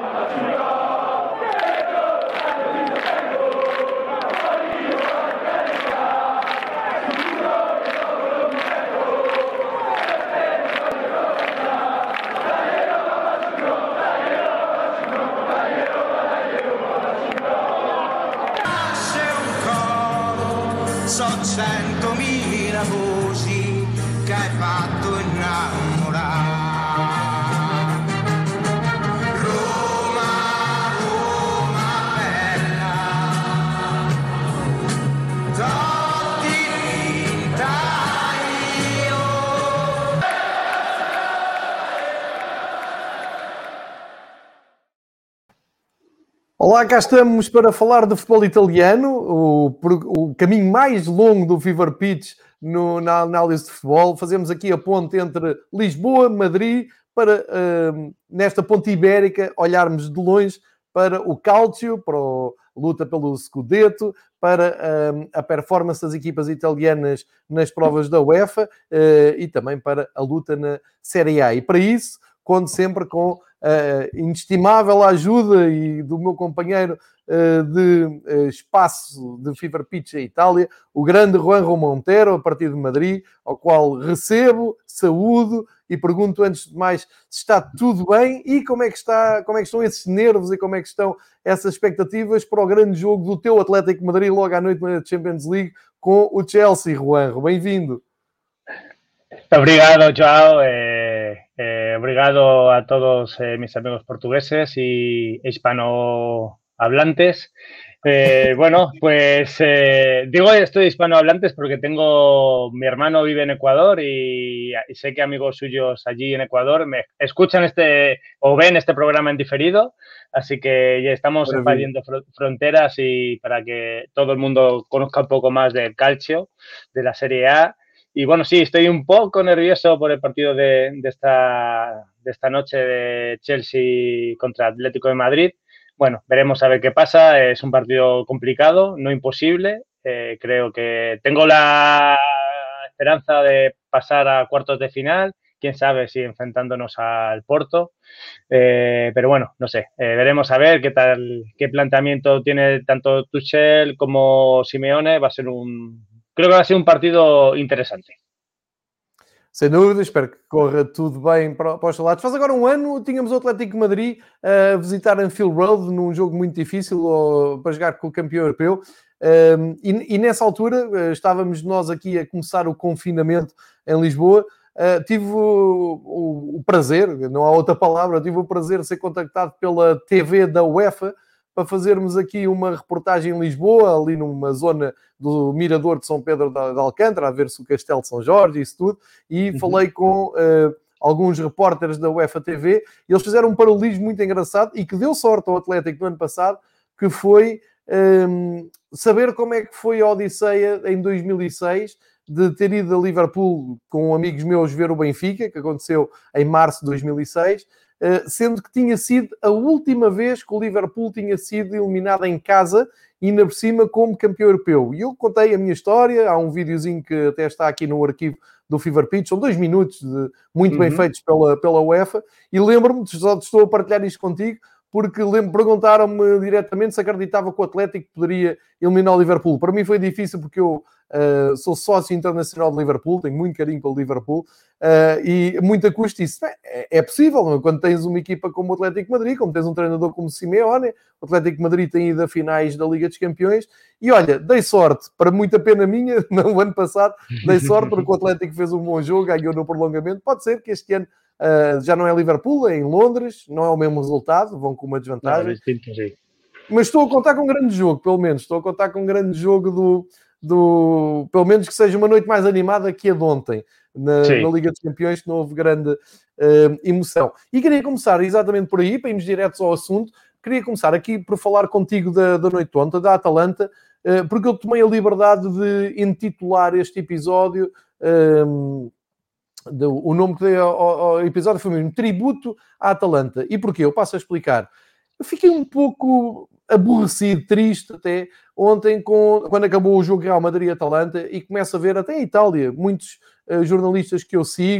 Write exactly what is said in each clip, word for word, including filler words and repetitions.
So centomila voci che hai fatto innamorare. Roma, Roma bella, Totti vinta io. Olá, cá estamos para falar de futebol italiano, o, o caminho mais longo do Fever Pitch no, na análise de futebol. Fazemos aqui a ponte entre Lisboa, Madrid, para, uh, nesta ponte ibérica, olharmos de longe para o Calcio, para a luta pelo Scudetto, para uh, a performance das equipas italianas nas provas da UEFA uh, e também para a luta na Série A. E para isso, conto sempre com a inestimável ajuda e do meu companheiro uh, de uh, espaço de Fever Pitch em Itália, o grande Juanjo Montero, a partir de Madrid, ao qual recebo, saúdo e pergunto antes de mais se está tudo bem e como é que, está, como é que estão esses nervos e como é que estão essas expectativas para o grande jogo do teu Atlético de Madrid logo à noite na Champions League com o Chelsea, Juanjo. Bem-vindo. Obrigado, Joao. Eh, eh, obrigado a todos eh, mis amigos portugueses y hispanohablantes. Eh, bueno, pues eh, digo estoy hispanohablantes porque tengo, mi hermano vive en Ecuador y, y sé que amigos suyos allí en Ecuador me escuchan este o ven este programa en diferido, así que ya estamos expandiendo fr- fronteras y para que todo el mundo conozca un poco más del calcio, de la Serie A. Y bueno, sí, estoy un poco nervioso por el partido de, de, esta, de esta noche de Chelsea contra Atlético de Madrid. Bueno, veremos a ver qué pasa. Es un partido complicado, no imposible. Eh, creo que tengo la esperanza de pasar a cuartos de final. Quién sabe si enfrentándonos al Porto. Eh, pero bueno, no sé. Eh, veremos a ver qué tal, qué planteamiento tiene tanto Tuchel como Simeone. Va a ser un... Creo que va a ser um partido interessante. Sem dúvida, espero que corra tudo bem para, para os lados. Faz agora um ano, tínhamos o Atlético de Madrid a visitar Anfield Road num jogo muito difícil ou, para jogar com o campeão europeu. Um, e, e nessa altura estávamos nós aqui a começar o confinamento em Lisboa. Uh, tive o, o, o prazer, não há outra palavra, tive o prazer de ser contactado pela T V da UEFA para fazermos aqui uma reportagem em Lisboa, ali numa zona do Mirador de São Pedro de Alcântara, a ver se o Castelo de São Jorge e isso tudo, e uhum. falei com uh, alguns repórteres da UEFA T V, e eles fizeram um paralelismo muito engraçado e que deu sorte ao Atlético no ano passado, que foi um, saber como é que foi a Odisseia em dois mil e seis, de ter ido a Liverpool com amigos meus ver o Benfica, que aconteceu em março de dois mil e seis, sendo que tinha sido a última vez que o Liverpool tinha sido eliminado em casa e ainda por cima como campeão europeu. E eu contei a minha história, há um videozinho que até está aqui no arquivo do Fever Pitch, são dois minutos de, muito uhum. bem feitos pela, pela UEFA, e lembro-me, só estou a partilhar isto contigo, porque lembro, perguntaram-me diretamente se acreditava que o Atlético poderia eliminar o Liverpool. Para mim foi difícil porque eu uh, sou sócio internacional de Liverpool, tenho muito carinho pelo Liverpool, uh, e muita custa isso. É, é possível, não? Quando tens uma equipa como o Atlético de Madrid, como tens um treinador como o Simeone, o Atlético de Madrid tem ido a finais da Liga dos Campeões, e olha, dei sorte, para muita pena minha, no ano passado, dei sorte porque o Atlético fez um bom jogo, ganhou no prolongamento. Pode ser que este ano Uh, já não é Liverpool, é em Londres, não é o mesmo resultado, vão com uma desvantagem. Não, mas estou a contar com um grande jogo, pelo menos. Estou a contar com um grande jogo do, do... Pelo menos que seja uma noite mais animada que a de ontem, na, na Liga dos Campeões, que não houve grande uh, emoção. E queria começar exatamente por aí, para irmos diretos ao assunto. Queria começar aqui por falar contigo da, da noite de ontem, da Atalanta, uh, porque eu tomei a liberdade de intitular este episódio... Uh, o nome que dei ao, ao episódio foi mesmo Tributo à Atalanta. E porquê? Eu passo a explicar. Eu fiquei um pouco aborrecido, triste até, ontem com, quando acabou o jogo Real Madrid-Atalanta, e começo a ver até em Itália muitos uh, jornalistas que eu sigo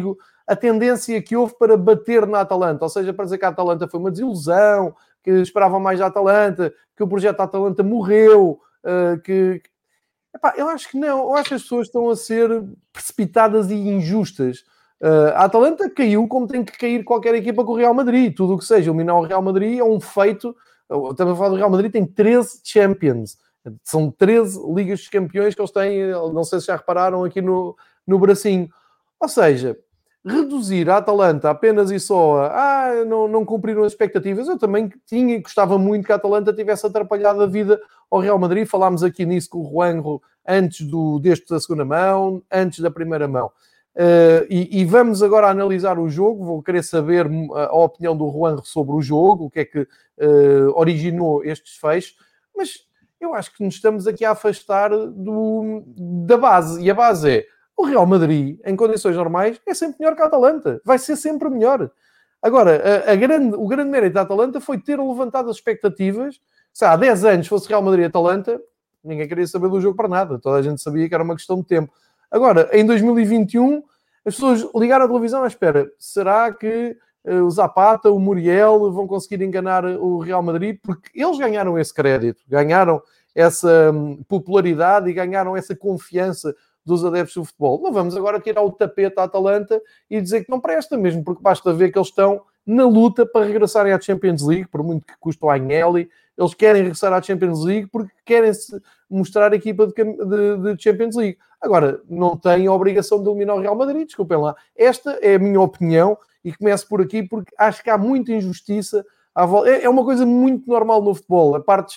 a tendência que houve para bater na Atalanta, ou seja, para dizer que a Atalanta foi uma desilusão, que esperavam mais da Atalanta, que o projeto da Atalanta morreu, uh, que... Epá, eu acho que não, eu acho que as pessoas estão a ser precipitadas e injustas. Uh, a Atalanta caiu como tem que cair qualquer equipa com o Real Madrid. Tudo o que seja eliminar o Real Madrid é um feito. Estamos a falar do Real Madrid, tem treze Champions. São treze Ligas dos Campeões que eles têm, não sei se já repararam aqui no, no bracinho. Ou seja, reduzir a Atalanta apenas e só a ah, não, não cumpriram as expectativas. Eu também tinha e gostava muito que a Atalanta tivesse atrapalhado a vida ao Real Madrid. Falámos aqui nisso com o Juanjo antes do, deste da segunda mão, antes da primeira mão. Uh, e, e vamos agora analisar o jogo. Vou querer saber a, a opinião do Juanjo sobre o jogo, o que é que uh, originou este desfecho, mas eu acho que nos estamos aqui a afastar do, da base, e a base é o Real Madrid, em condições normais, é sempre melhor que a Atalanta, vai ser sempre melhor. Agora, a, a grande, o grande mérito da Atalanta foi ter levantado as expectativas. Se há dez anos fosse Real Madrid e Atalanta, ninguém queria saber do jogo para nada, toda a gente sabia que era uma questão de tempo. Agora, em dois mil e vinte e um, as pessoas ligaram a televisão à espera. Será que uh, o Zapata, o Muriel vão conseguir enganar o Real Madrid? Porque eles ganharam esse crédito, ganharam essa um, popularidade e ganharam essa confiança dos adeptos do futebol. Não vamos agora tirar o tapete à Atalanta e dizer que não presta mesmo, porque basta ver que eles estão na luta para regressarem à Champions League, por muito que custe o Agnelli. Eles querem regressar à Champions League porque querem -se mostrar a equipa de, de, de Champions League. Agora, não têm a obrigação de eliminar o Real Madrid, desculpem lá. Esta é a minha opinião e começo por aqui porque acho que há muita injustiça. À volta. É uma coisa muito normal no futebol. A parte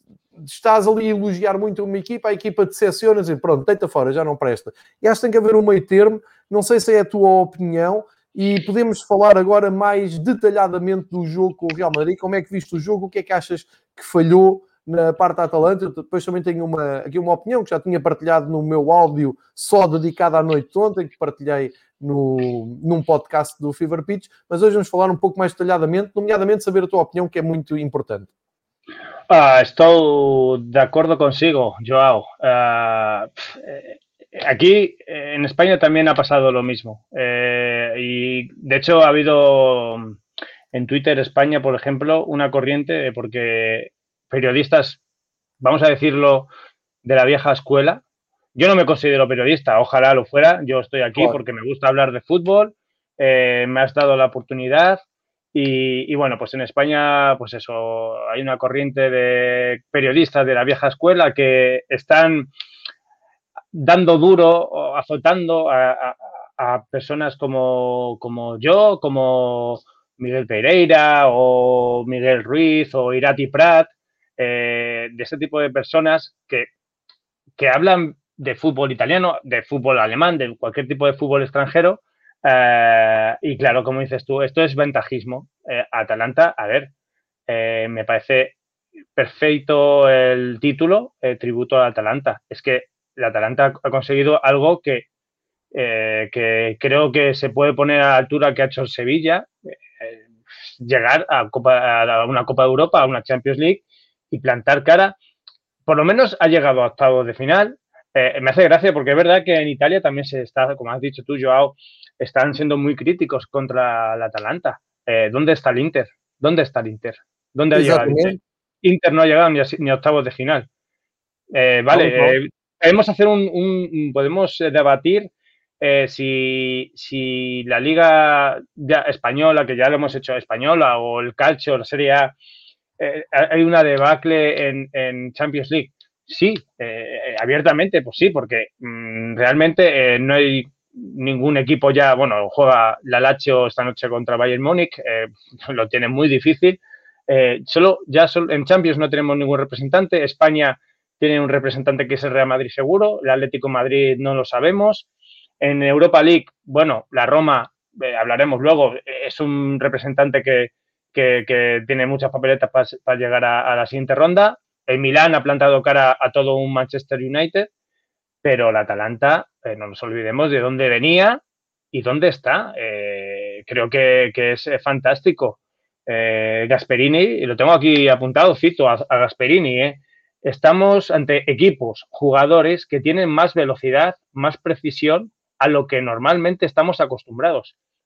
estás ali a elogiar muito uma equipa, a equipa decepciona e diz, pronto, deita fora, já não presta. E acho que tem que haver um meio termo. Não sei se é a tua opinião. E podemos falar agora mais detalhadamente do jogo com o Real Madrid. Como é que viste o jogo? O que é que achas que falhou na parte da Atalanta? Eu depois também tenho uma, aqui uma opinião que já tinha partilhado no meu áudio só dedicado à noite de ontem, que partilhei no, num podcast do Fever Pitch, mas hoje vamos falar um pouco mais detalhadamente, nomeadamente saber a tua opinião, que é muito importante. Ah, estou de acuerdo consigo, Joao. Uh, Aquí en España también ha pasado lo mismo. Eh, y de hecho ha habido en Twitter España, por ejemplo, una corriente porque periodistas, vamos a decirlo, de la vieja escuela. Yo no me considero periodista, ojalá lo fuera. Yo estoy aquí Claro. porque me gusta hablar de fútbol, eh, me has dado la oportunidad. Y, y bueno, pues en España, pues eso, hay una corriente de periodistas de la vieja escuela que están dando duro, azotando a, a, a personas como, como yo, como Miguel Pereira o Miguel Ruiz o Irati Prat, eh, de ese tipo de personas que, que hablan de fútbol italiano, de fútbol alemán, de cualquier tipo de fútbol extranjero. Eh, y claro, como dices tú, esto es ventajismo. Eh, Atalanta, a ver, eh, me parece perfecto el título, eh, tributo a Atalanta. Es que la Atalanta ha conseguido algo que, eh, que creo que se puede poner a la altura que ha hecho el Sevilla, eh, llegar a, Copa, a una Copa de Europa, a una Champions League y plantar cara. Por lo menos ha llegado a octavos de final. Eh, me hace gracia porque es verdad que en Italia también se está, como has dicho tú, Joao, están siendo muy críticos contra la Atalanta. Eh, ¿Dónde está el Inter? ¿Dónde está el Inter? ¿Dónde ha llegado el Inter? Inter no ha llegado ni a, ni a octavos de final. Eh, vale, no, no. Eh, podemos hacer un, un podemos debatir eh, si, si la liga ya española, que ya lo hemos hecho española, o el calcio, la Serie A, eh, hay una debacle en, en Champions League. Sí, eh, abiertamente, pues sí, porque mmm, realmente eh, no hay ningún equipo ya, bueno, juega la Lazio esta noche contra Bayern Múnich, eh, lo tiene muy difícil. Eh, solo ya solo, en Champions no tenemos ningún representante. España tiene un representante que es el Real Madrid seguro, el Atlético de Madrid no lo sabemos. En Europa League, bueno, la Roma, eh, hablaremos luego, es un representante que, que, que tiene muchas papeletas para pa llegar a, a la siguiente ronda. El Milán ha plantado cara a todo un Manchester United, pero la Atalanta, eh, no nos olvidemos de dónde venía y dónde está. Eh, creo que, que es fantástico. Eh, Gasperini, y lo tengo aquí apuntado, cito a, a Gasperini, eh, estamos ante equipos, jugadores que tienen más velocidad, más precisión a lo que normalmente estamos acostumbrados.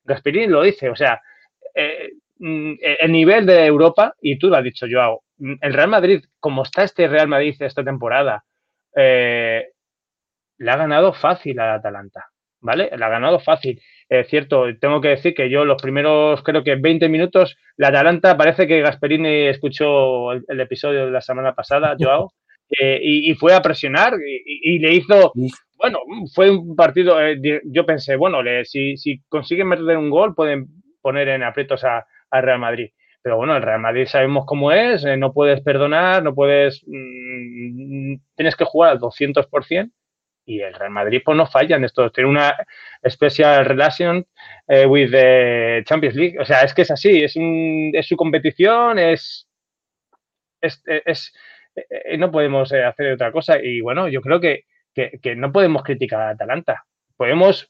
Gasperini lo dice, o sea, eh, el nivel de Europa, y tú lo has dicho, Joao, el Real Madrid, como está este Real Madrid esta temporada, eh, le ha ganado fácil al Atalanta, ¿vale? Le ha ganado fácil. Es cierto, tengo que decir que yo los primeros, creo que veinte minutos, la Atalanta, parece que Gasperini escuchó el, el episodio de la semana pasada, Joao, eh, y, y fue a presionar y, y le hizo... Bueno, fue un partido, eh, yo pensé, bueno, le, si, si consiguen meter un gol, pueden poner en aprietos a, a Real Madrid. Pero bueno, el Real Madrid sabemos cómo es, eh, no puedes perdonar, no puedes... Mmm, tienes que jugar al doscientos por ciento y el Real Madrid pues no falla en esto. Tiene una special relation eh, with the Champions League. O sea, es que es así, es, un, es su competición, es... es, es, es no podemos hacer otra cosa. Y bueno, yo creo que Que, que no podemos criticar a Atalanta. Podemos,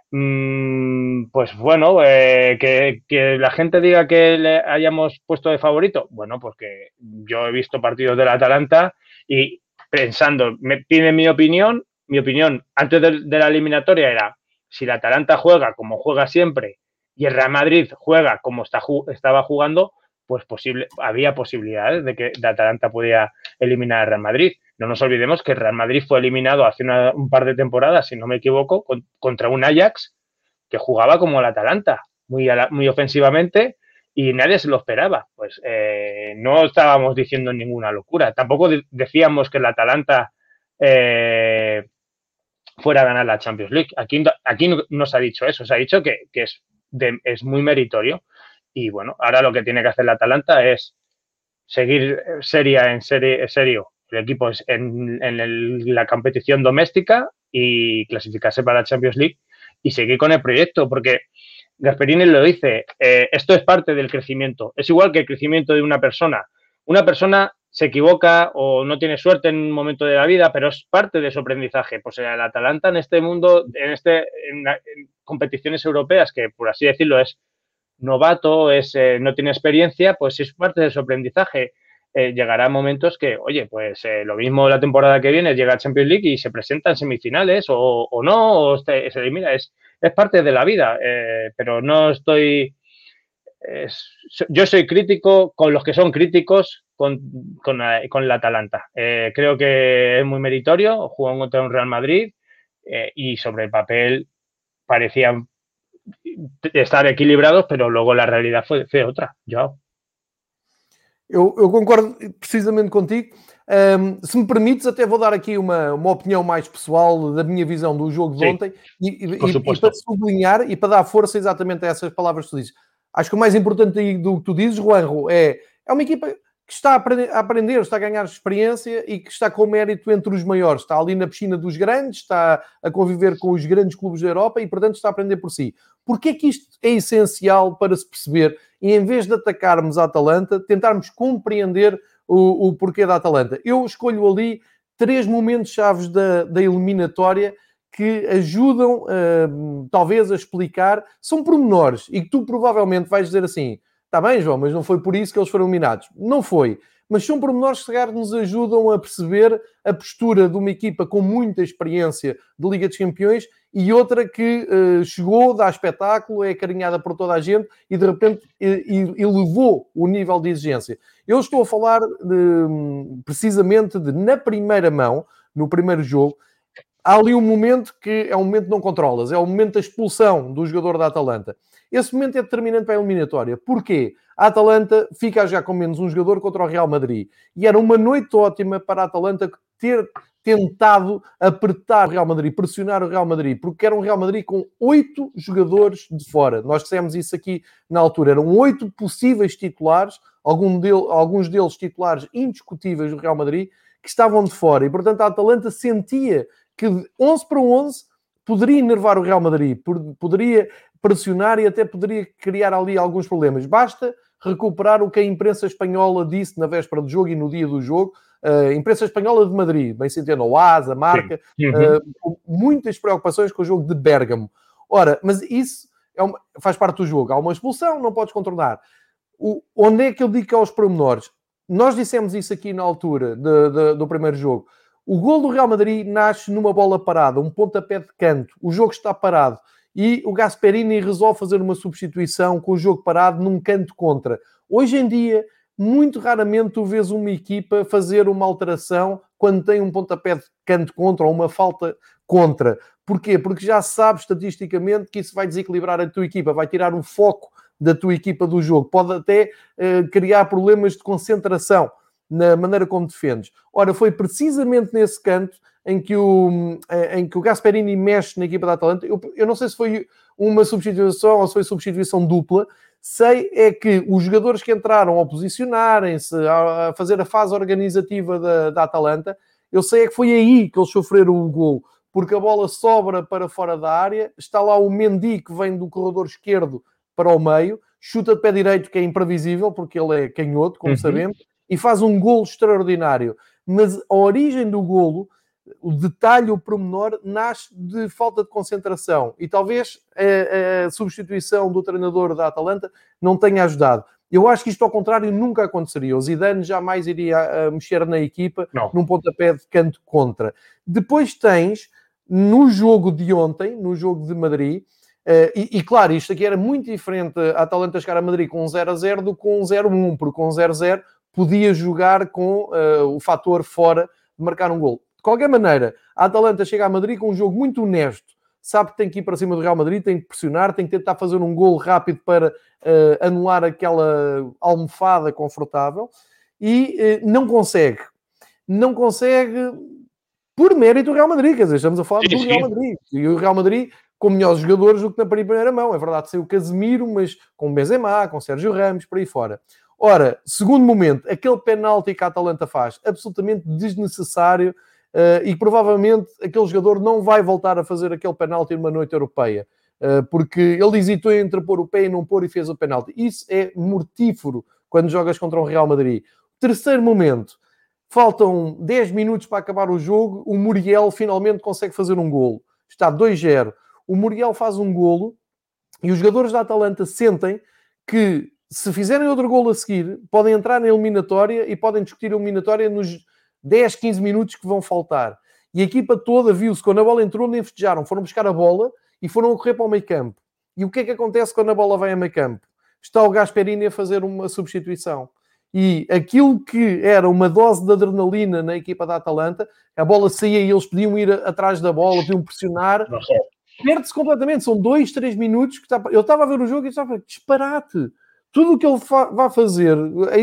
mmm, pues bueno, eh, que, que la gente diga que le hayamos puesto de favorito. Bueno, pues que yo he visto partidos del Atalanta y pensando, me pide mi opinión, mi opinión antes de, de la eliminatoria era, si el Atalanta juega como juega siempre y el Real Madrid juega como está, estaba jugando, pues posible, había posibilidades de que el Atalanta podía eliminar al Real Madrid. No nos olvidemos que el Real Madrid fue eliminado hace una, un par de temporadas, si no me equivoco, con, contra un Ajax que jugaba como el Atalanta, muy, muy ofensivamente, y nadie se lo esperaba. Pues eh, no estábamos diciendo ninguna locura. Tampoco de, decíamos que el Atalanta eh, fuera a ganar la Champions League. Aquí, aquí no, no se ha dicho eso, se ha dicho que, que es, de, es muy meritorio. Y bueno, ahora lo que tiene que hacer el Atalanta es seguir seria en serie, serio el equipo es en, en el, la competición doméstica y clasificarse para la Champions League y seguir con el proyecto, porque Gasperini lo dice, eh, esto es parte del crecimiento. Es igual que el crecimiento de una persona. Una persona se equivoca o no tiene suerte en un momento de la vida, pero es parte de su aprendizaje. Pues el Atalanta en este mundo, en, este, en, en competiciones europeas, que por así decirlo es novato, es, eh, no tiene experiencia, pues es parte de su aprendizaje. Eh, llegará momentos que, oye, pues eh, lo mismo la temporada que viene llega a Champions League y se presenta en semifinales o, o no, o se, se elimina, es, es parte de la vida, eh, pero no estoy... Es, yo soy crítico con los que son críticos con, con, con el Atalanta. Eh, creo que es muy meritorio, jugó contra un Real Madrid eh, y sobre el papel parecían estar equilibrados, pero luego la realidad fue, fue otra. Joao. Eu, eu concordo precisamente contigo. Um, se me permites, até vou dar aqui uma, uma opinião mais pessoal da minha visão do jogo de Sim, ontem e, e, e para sublinhar e para dar força exatamente a essas palavras que tu dizes. Acho que o mais importante do que tu dizes, Juanjo, é, é uma equipa que está a aprender, a aprender, está a ganhar experiência e que está com mérito entre os maiores. Está ali na piscina dos grandes, está a conviver com os grandes clubes da Europa e, portanto, está a aprender por si. Porquê é que isto é essencial para se perceber e, em vez de atacarmos a Atalanta, tentarmos compreender o, o porquê da Atalanta? Eu escolho ali três momentos chaves da, da eliminatória que ajudam, uh, talvez, a explicar. São pormenores e que tu provavelmente vais dizer assim, está bem, João, mas não foi por isso que eles foram eliminados. Não foi. Mas são pormenores que nos ajudam a perceber a postura de uma equipa com muita experiência de Liga dos Campeões e outra que uh, chegou, dá espetáculo, é acarinhada por toda a gente e, de repente, elevou o nível de exigência. Eu estou a falar de, precisamente de, na primeira mão, no primeiro jogo, há ali um momento que é um momento que não controlas, é o momento da expulsão do jogador da Atalanta. Esse momento é determinante para a eliminatória. Porquê? A Atalanta fica já com menos um jogador contra o Real Madrid. E era uma noite ótima para a Atalanta ter tentado apertar o Real Madrid, pressionar o Real Madrid, porque era um Real Madrid com oito jogadores de fora. Nós dissemos isso aqui na altura. Eram oito possíveis titulares, algum dele, alguns deles titulares indiscutíveis do Real Madrid, que estavam de fora. E, portanto, a Atalanta sentia que onze para onze poderia enervar o Real Madrid, poderia pressionar e até poderia criar ali alguns problemas. Basta recuperar o que a imprensa espanhola disse na véspera do jogo e no dia do jogo. A uh, imprensa espanhola de Madrid, bem se entende, o A S, a Marca, uhum. uh, com muitas preocupações com o jogo de Bérgamo. Ora, mas isso é uma, faz parte do jogo. Há uma expulsão, não podes contornar. O, onde é que eu digo que é aos pormenores? Nós dissemos isso aqui na altura de, de, do primeiro jogo. O gol do Real Madrid nasce numa bola parada, um pontapé de canto. O jogo está parado. e o Gasperini resolve fazer uma substituição com o jogo parado num canto contra. Hoje em dia, muito raramente tu vês uma equipa fazer uma alteração quando tem um pontapé de canto contra ou uma falta contra. Porquê? Porque já sabes estatisticamente que isso vai desequilibrar a tua equipa, vai tirar o foco da tua equipa do jogo. Pode até uh, criar problemas de concentração na maneira como defendes. Ora, foi precisamente nesse canto em que o, em que o Gasperini mexe na equipa da Atalanta. Eu, eu não sei se foi uma substituição ou se foi substituição dupla. Sei é que os jogadores que entraram a posicionarem-se, a fazer a fase organizativa da, da Atalanta, eu sei é que foi aí que eles sofreram o gol, porque a bola sobra para fora da área, está lá o Mendy que vem do corredor esquerdo para o meio, chuta de pé direito, que é imprevisível, porque ele é canhoto, como uhum. sabemos, e faz um golo extraordinário. Mas a origem do golo, o detalhe, o pormenor, nasce de falta de concentração. E talvez a, a substituição do treinador da Atalanta não tenha ajudado. Eu acho que isto, ao contrário, nunca aconteceria. O Zidane jamais iria a mexer na equipa não. num pontapé de canto contra. Depois tens, no jogo de ontem, no jogo de Madrid, Uh, e, e claro, isto aqui era muito diferente a Atalanta chegar a Madrid com um zero a zero do que com um zero a um, porque com um zero a zero podia jogar com uh, o fator fora de marcar um gol. De qualquer maneira, a Atalanta chega a Madrid com um jogo muito honesto, sabe que tem que ir para cima do Real Madrid, tem que pressionar, tem que tentar fazer um gol rápido para uh, anular aquela almofada confortável e uh, não consegue. Não consegue por mérito do Real Madrid, quer dizer, estamos a falar sim, do Real Madrid. E o Real Madrid com melhores jogadores do que na primeira mão. É verdade, saiu o Casemiro, mas com Benzema, com Sérgio Ramos, por aí fora. Ora, segundo momento, aquele penalti que a Atalanta faz, absolutamente desnecessário, uh, e provavelmente aquele jogador não vai voltar a fazer aquele penalti numa noite europeia, uh, porque ele hesitou entre pôr o pé e não pôr e fez o penalti. Isso é mortífero quando jogas contra um Real Madrid. Terceiro momento, faltam dez minutos para acabar o jogo, o Muriel finalmente consegue fazer um golo. Está dois a zero. O Muriel faz um golo e os jogadores da Atalanta sentem que, se fizerem outro golo a seguir, podem entrar na eliminatória e podem discutir a eliminatória nos dez, quinze minutos que vão faltar. E a equipa toda viu-se, quando a bola entrou, nem festejaram. Foram buscar a bola e foram a correr para o meio campo. E o que é que acontece quando a bola vai a meio campo? Está o Gasperini a fazer uma substituição. E aquilo que era uma dose de adrenalina na equipa da Atalanta, a bola saía e eles podiam ir atrás da bola, podiam pressionar... Perde-se completamente, são dois, três minutos que está... Eu estava a ver o jogo e estava disparate. Tudo o que ele fa... vai fazer,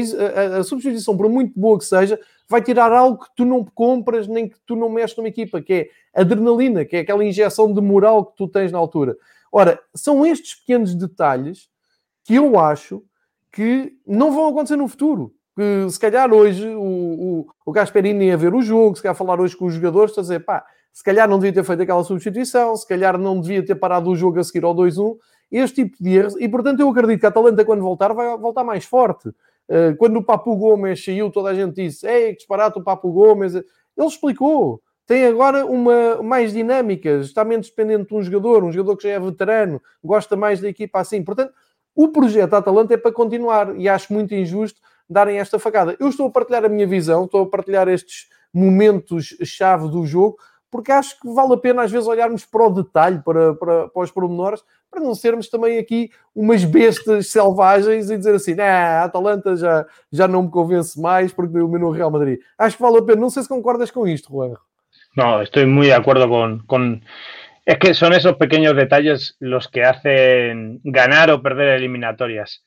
a, a, a substituição, por muito boa que seja, vai tirar algo que tu não compras nem que tu não mexes numa equipa, que é adrenalina, que é aquela injeção de moral que tu tens na altura. Ora, são estes pequenos detalhes que eu acho que não vão acontecer no futuro. Que se calhar hoje o, o, o Gasperini ia ver o jogo, se calhar falar hoje com os jogadores, está a dizer, pá, se calhar não devia ter feito aquela substituição, se calhar não devia ter parado o jogo a seguir ao dois a um, este tipo de erros, e portanto eu acredito que a Atalanta, quando voltar, vai voltar mais forte. Quando o Papu Gomes saiu, toda a gente disse, ei, que disparate o Papu Gomes, ele explicou, tem agora uma mais dinâmicas, está menos dependente de um jogador, um jogador que já é veterano, gosta mais da equipa assim, portanto, o projeto da Atalanta é para continuar, e acho muito injusto darem esta facada. Eu estou a partilhar a minha visão, estou a partilhar estes momentos-chave do jogo, porque acho que vale a pena às vezes olharmos para o detalhe, para, para, para os pormenores, para não sermos também aqui umas bestas selvagens e dizer assim, nah, a Atalanta já, já não me convence mais porque dominou o Real Madrid. Acho que vale a pena. Não sei se concordas con isto, Juan. No, estoy muy de acuerdo con, con... Es que son esos pequeños detalles los que hacen ganar o perder eliminatorias.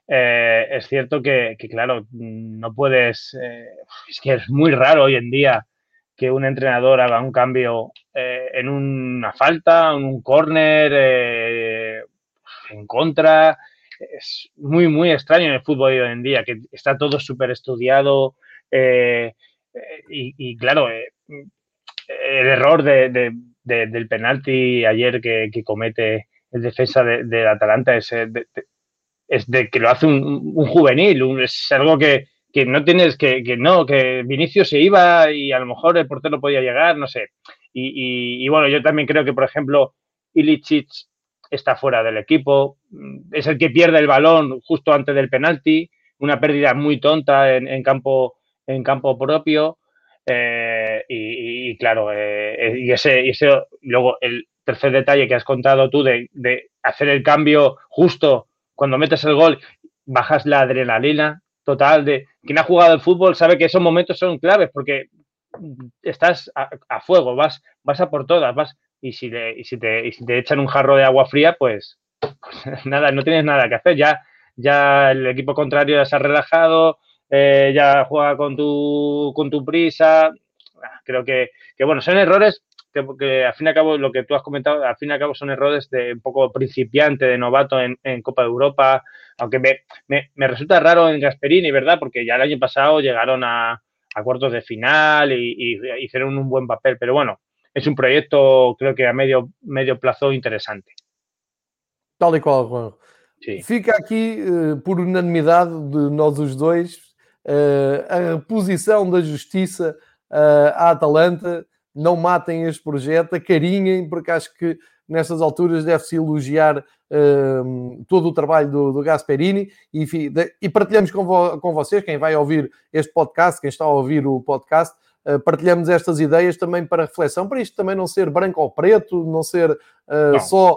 Eh, es cierto que, que, claro, no puedes... Eh, es que es muy raro hoy en día que un entrenador haga un cambio eh, en una falta, en un córner, eh, en contra. Es muy, muy extraño en el fútbol hoy en día, que está todo súper estudiado eh, eh, y, y, claro, eh, el error de, de, de, del penalti ayer que, que comete el defensa de, de Atalanta es de, de, es de que lo hace un, un juvenil, un, es algo que que no tienes, que, que no, que Vinicius se iba y a lo mejor el portero podía llegar, no sé. Y, y, y bueno, yo también creo que, por ejemplo, Ilicic está fuera del equipo, es el que pierde el balón justo antes del penalti, una pérdida muy tonta en, en, campo, en campo propio. Eh, y, y claro, eh, y ese, y ese luego el, tercer detalle que has contado tú de, de hacer el cambio justo cuando metes el gol, bajas la adrenalina total de quien ha jugado el fútbol sabe que esos momentos son claves porque estás a, a fuego, vas, vas a por todas, vas y si, le, y, si te, y si te echan un jarro de agua fría, pues, pues nada, no tienes nada que hacer, ya, ya el equipo contrario ya se ha relajado, eh, ya juega con tu, con tu prisa, creo que, que bueno, son errores que, que al fin y al cabo, lo que tú has comentado, al fin y al cabo son errores de un poco principiante, de novato en, en Copa de Europa, aunque me, me, me resulta raro en Gasperini, ¿verdad? Porque ya el año pasado llegaron a, a cuartos de final y, y hicieron un buen papel, pero bueno, es un proyecto creo que a medio, medio plazo interesante. Tal e qual, Juan. Sim. Fica aqui, uh, por unanimidade de nós os dois, uh, a reposição da justiça uh, à Atalanta. Não matem este projeto, acarinhem, porque acho que nestas alturas deve-se elogiar uh, todo o trabalho do, do Gasperini e, enfim, de, e partilhamos com, vo, com vocês, quem vai ouvir este podcast, quem está a ouvir o podcast, uh, partilhamos estas ideias também para reflexão, para isto também não ser branco ou preto, não ser uh, não. só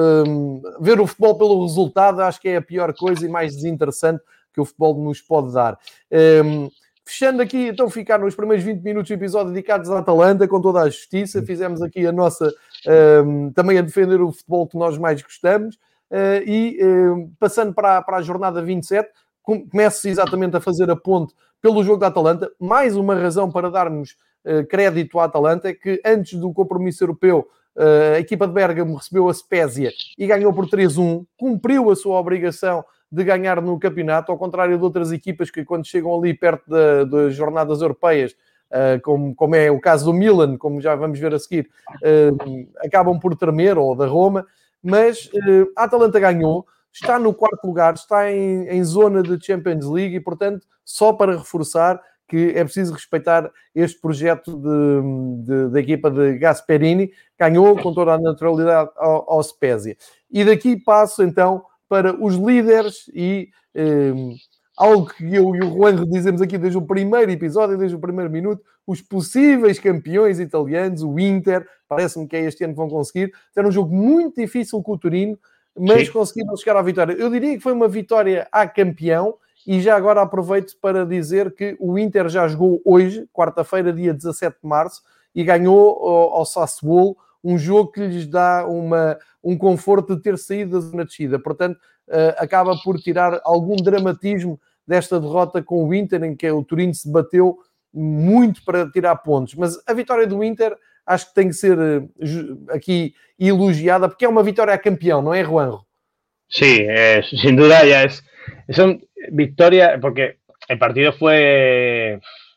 um, ver o futebol pelo resultado, acho que é a pior coisa e mais desinteressante que o futebol nos pode dar. Um, Fechando aqui, então, ficar nos primeiros vinte minutos do episódio dedicados à Atalanta, com toda a justiça. Fizemos aqui a nossa, um, também a defender o futebol que nós mais gostamos. Uh, e um, passando para a, para a jornada vinte e sete, começo exatamente a fazer a ponte pelo jogo da Atalanta. Mais uma razão para darmos uh, crédito à Atalanta é que antes do compromisso europeu, uh, a equipa de Bérgamo recebeu a Spezia e ganhou por três a um. Cumpriu a sua obrigação de ganhar no campeonato, ao contrário de outras equipas que quando chegam ali perto da, das jornadas europeias, uh, como, como é o caso do Milan, como já vamos ver a seguir, uh, acabam por tremer, ou da Roma, mas uh, a Atalanta ganhou, está no quarto lugar, está em, em zona de Champions League e, portanto, só para reforçar que é preciso respeitar este projeto de, de, da equipa de Gasperini, ganhou com toda a naturalidade ao, ao Spezia. E daqui passo, então, para os líderes e um, algo que eu e o Juan dizemos aqui desde o primeiro episódio, desde o primeiro minuto, os possíveis campeões italianos, o Inter, parece-me que é este ano que vão conseguir. Era um jogo muito difícil com o Torino, mas Sim. conseguiram chegar à vitória. Eu diria que foi uma vitória a campeão e já agora aproveito para dizer que o Inter já jogou hoje, quarta-feira, dia dezassete de março, e ganhou ao, ao Sassuolo, um jogo que lhes dá uma, um conforto de ter saído da zona de descida. Portanto, uh, acaba por tirar algum dramatismo desta derrota com o Inter, em que o Torino se bateu muito para tirar pontos. Mas a vitória do Inter acho que tem que ser uh, aqui elogiada, porque é uma vitória a campeão, não é, Juanjo? Sí, eh, sin duda ya es, son victorias, porque el partido fue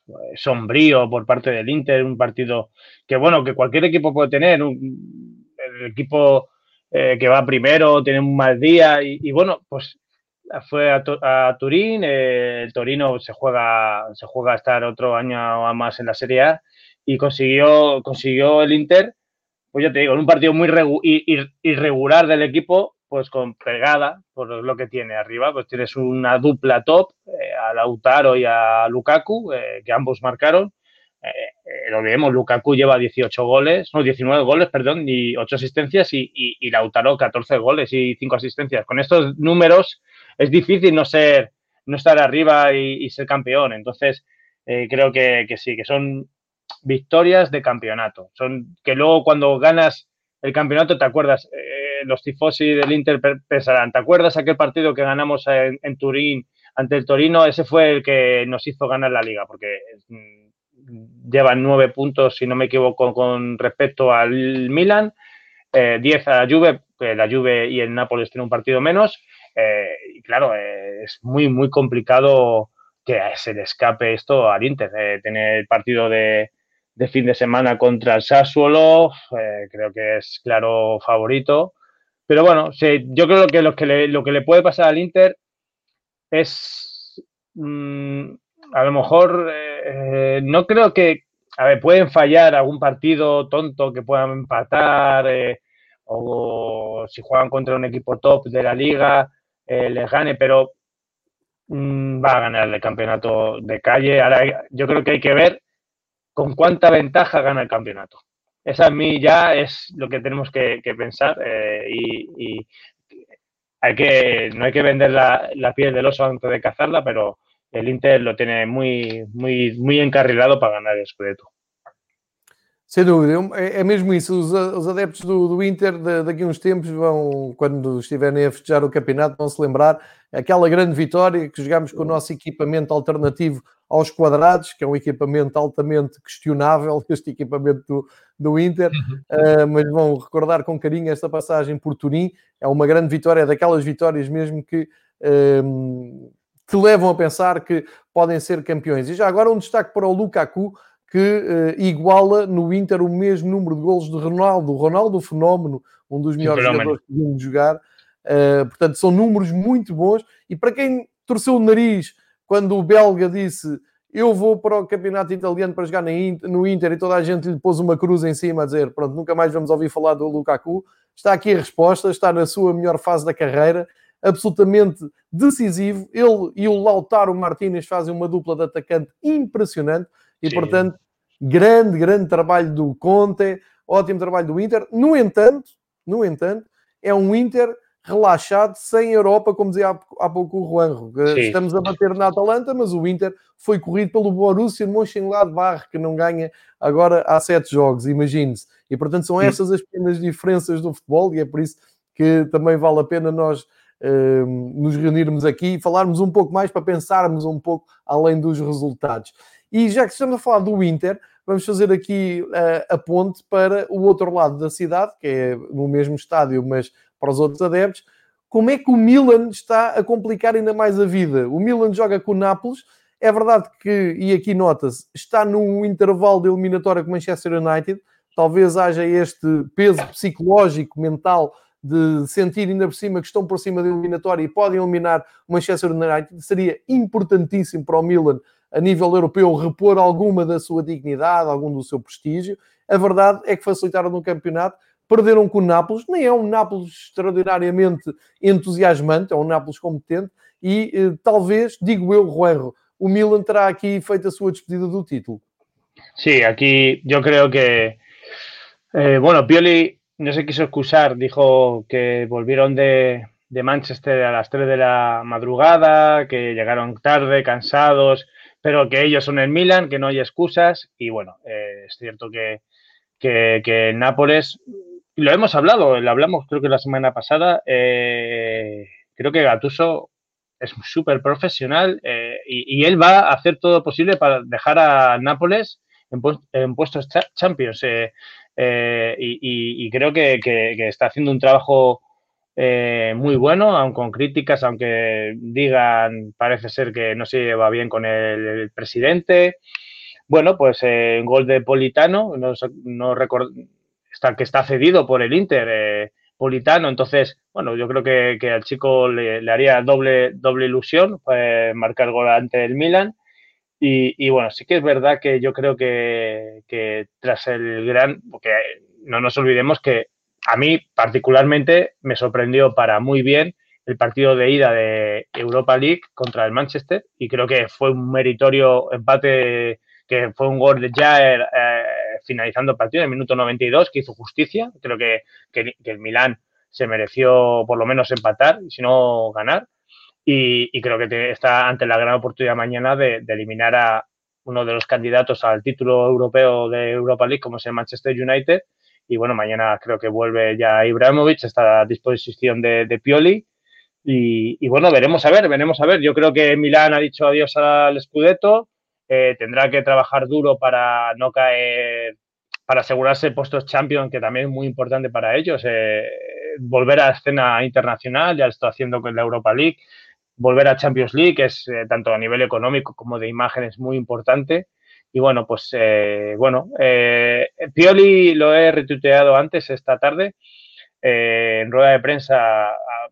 sombrío por parte del Inter, un partido que, bueno, que cualquier equipo puede tener, un, el equipo eh, que va primero tiene un mal día y, y bueno, pues fue a, a Turín, eh, el Torino se juega, se juega a estar otro año más en la Serie A y consiguió, consiguió el Inter, pues ya te digo, en un partido muy regu ir, irregular del equipo, pues con pegada, por lo que tiene arriba, pues tienes una dupla top, eh, a Lautaro y a Lukaku, eh, que ambos marcaron. Eh, eh, lo vemos, Lukaku lleva dieciocho goles, no, diecinueve goles, perdón, y ocho asistencias, y, y, y Lautaro catorce goles y cinco asistencias. Con estos números es difícil no ser, no estar arriba y, y ser campeón. Entonces, eh, creo que, que sí, que son victorias de campeonato. Son que luego cuando ganas el campeonato te acuerdas, eh, los tifosi del Inter pensarán, ¿te acuerdas aquel partido que ganamos en, en Turín ante el Torino? Ese fue el que nos hizo ganar la Liga, porque mm, llevan nueve puntos, si no me equivoco, con respecto al Milan, eh, diez a la Juve, que la Juve y el Nápoles tienen un partido menos, eh, y claro, eh, es muy, muy complicado que se le escape esto al Inter, eh, tener el partido de de fin de semana contra el Sassuolo, eh, creo que es claro favorito. Pero bueno, sí, yo creo que lo que le, lo que le puede pasar al Inter es, mmm, a lo mejor, eh, no creo que, a ver, pueden fallar algún partido tonto que puedan empatar, eh, o si juegan contra un equipo top de la liga, eh, les gane, pero mmm, va a ganar el campeonato de calle. Ahora yo creo que hay que ver con cuánta ventaja gana el campeonato. esa a mí ya es lo que tenemos que, que pensar eh, y, y hay que, no hay que vender la, la piel del oso antes de cazarla, pero el Inter lo tiene muy, muy, muy encarrilado para ganar el Scudetto. Sem dúvida, é, é mesmo isso. Os, os adeptos do, do Inter de, daqui a uns tempos vão, quando estiverem a festejar o campeonato, vão se lembrar aquela grande vitória que jogámos com o nosso equipamento alternativo aos quadrados, que é um equipamento altamente questionável, este equipamento do, do Inter, uh, mas vão recordar com carinho esta passagem por Turim. É uma grande vitória, é daquelas vitórias mesmo que uh, te levam a pensar que podem ser campeões. E já agora um destaque para o Lukaku, que uh, iguala no Inter o mesmo número de golos de Ronaldo. Ronaldo, fenómeno, um dos melhores jogadores que vimos jogar. Uh, portanto, são números muito bons. E para quem torceu o nariz quando o belga disse eu vou para o campeonato italiano para jogar no Inter e toda a gente lhe pôs uma cruz em cima a dizer pronto, nunca mais vamos ouvir falar do Lukaku, está aqui a resposta, está na sua melhor fase da carreira, absolutamente decisivo. Ele e o Lautaro Martínez fazem uma dupla de atacante impressionante. E, sim, portanto, grande, grande trabalho do Conte, ótimo trabalho do Inter. No entanto, no entanto, é um Inter relaxado, sem Europa, como dizia há, há pouco o Juanjo. Sim. Estamos a bater na Atalanta, mas o Inter foi corrido pelo Borussia Mönchengladbach, que não ganha agora há sete jogos, imagine-se. E, portanto, são estas as pequenas diferenças do futebol, e é por isso que também vale a pena nós uh, nos reunirmos aqui e falarmos um pouco mais para pensarmos um pouco além dos resultados. E já que estamos a falar do Inter, vamos fazer aqui uh, a ponte para o outro lado da cidade, que é no mesmo estádio, mas para os outros adeptos. Como é que o Milan está a complicar ainda mais a vida? O Milan joga com o Nápoles. É verdade que, e aqui nota-se, está num intervalo de eliminatória com o Manchester United. Talvez haja este peso psicológico, mental, de sentir ainda por cima que estão por cima da eliminatória e podem eliminar o Manchester United. Seria importantíssimo para o Milan, a nível europeu, repor alguma da sua dignidade, algum do seu prestígio. A verdade é que facilitaram no campeonato, perderam com o Nápoles, nem é um Nápoles extraordinariamente entusiasmante, é um Nápoles competente, e eh, talvez, digo eu, Juanjo, o Milan terá aquí feito a súa despedida do título. Sí, aquí yo creo que, eh, bueno, Pioli no se quiso excusar, dijo que volvieron de, de Manchester a las tres de la madrugada, que llegaron tarde, cansados, pero que ellos son el Milan, que no hay excusas, y bueno, eh, es cierto que, que, que el Nápoles, lo hemos hablado, lo hablamos creo que la semana pasada, eh, creo que Gattuso es súper profesional eh, y, y él va a hacer todo posible para dejar a Nápoles en, pu en puestos cha Champions eh, eh, y, y, y creo que, que, que está haciendo un trabajo Eh, muy bueno, aun con críticas, aunque digan, parece ser que no se lleva bien con el, el presidente. Bueno, pues eh, un gol de Politano, no, no record... está, que está cedido por el Inter, eh, Politano, entonces, bueno, yo creo que, que al chico le, le haría doble, doble ilusión eh, marcar gol ante el Milan. Y, y bueno, sí que es verdad que yo creo que, que tras el gran, porque no nos olvidemos que a mí particularmente me sorprendió para muy bien el partido de ida de Europa League contra el Manchester y creo que fue un meritorio empate, que fue un gol de Jair eh, finalizando el partido en el minuto noventa y dos, que hizo justicia. Creo que, que, que el Milán se mereció por lo menos empatar y si no ganar y, y creo que te, está ante la gran oportunidad mañana de, de eliminar a uno de los candidatos al título europeo de Europa League como es el Manchester United. Y bueno, mañana creo que vuelve ya Ibrahimovic, está a disposición de, de Pioli. Y, y bueno, veremos a ver, veremos a ver. Yo creo que Milán ha dicho adiós al Scudetto, eh, tendrá que trabajar duro para no caer, para asegurarse puestos Champions, que también es muy importante para ellos. Eh, volver a la escena internacional, ya lo está haciendo con la Europa League. Volver a Champions League, que es eh, tanto a nivel económico como de imagen, es muy importante. Y bueno, pues eh, bueno, eh, Pioli lo he retuiteado antes esta tarde eh, en rueda de prensa.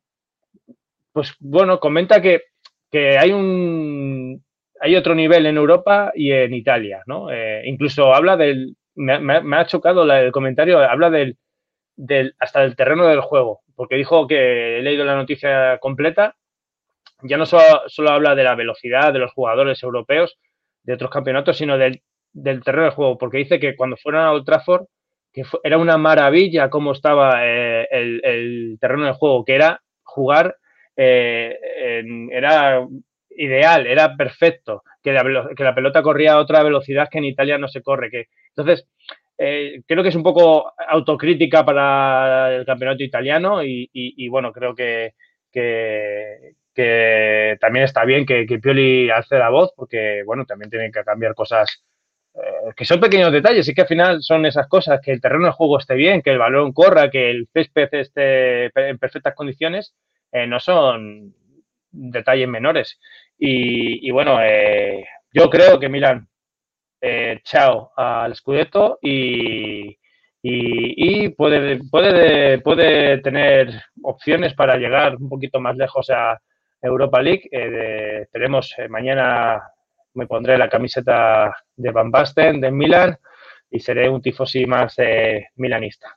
Pues bueno, comenta que, que hay un hay otro nivel en Europa y en Italia, ¿no? Eh, incluso habla del, me, me, me ha chocado la, el comentario, habla del, del hasta del terreno del juego, porque dijo que he leído la noticia completa, ya no solo, solo habla de la velocidad de los jugadores europeos de otros campeonatos, sino del, del terreno del juego, porque dice que cuando fueron a Old Trafford que fue, era una maravilla cómo estaba eh, el, el terreno de juego, que era jugar, eh, en, era ideal, era perfecto, que la, que la pelota corría a otra velocidad que en Italia no se corre. Que, entonces, eh, creo que es un poco autocrítica para el campeonato italiano y, y, y bueno, creo que, que, que también está bien que, que Pioli alce la voz porque, bueno, también tienen que cambiar cosas eh, que son pequeños detalles y que al final son esas cosas, que el terreno de juego esté bien, que el balón corra, que el césped esté en perfectas condiciones, eh, no son detalles menores. Y, y bueno, eh, yo creo que Milan, eh, chao al Scudetto y, y, y puede, puede, puede tener opciones para llegar un poquito más lejos a Europa League. Eh, de, tenemos eh, mañana, me pondré la camiseta de Van Basten, de Milan, e serei um tifosi mais eh, milanista.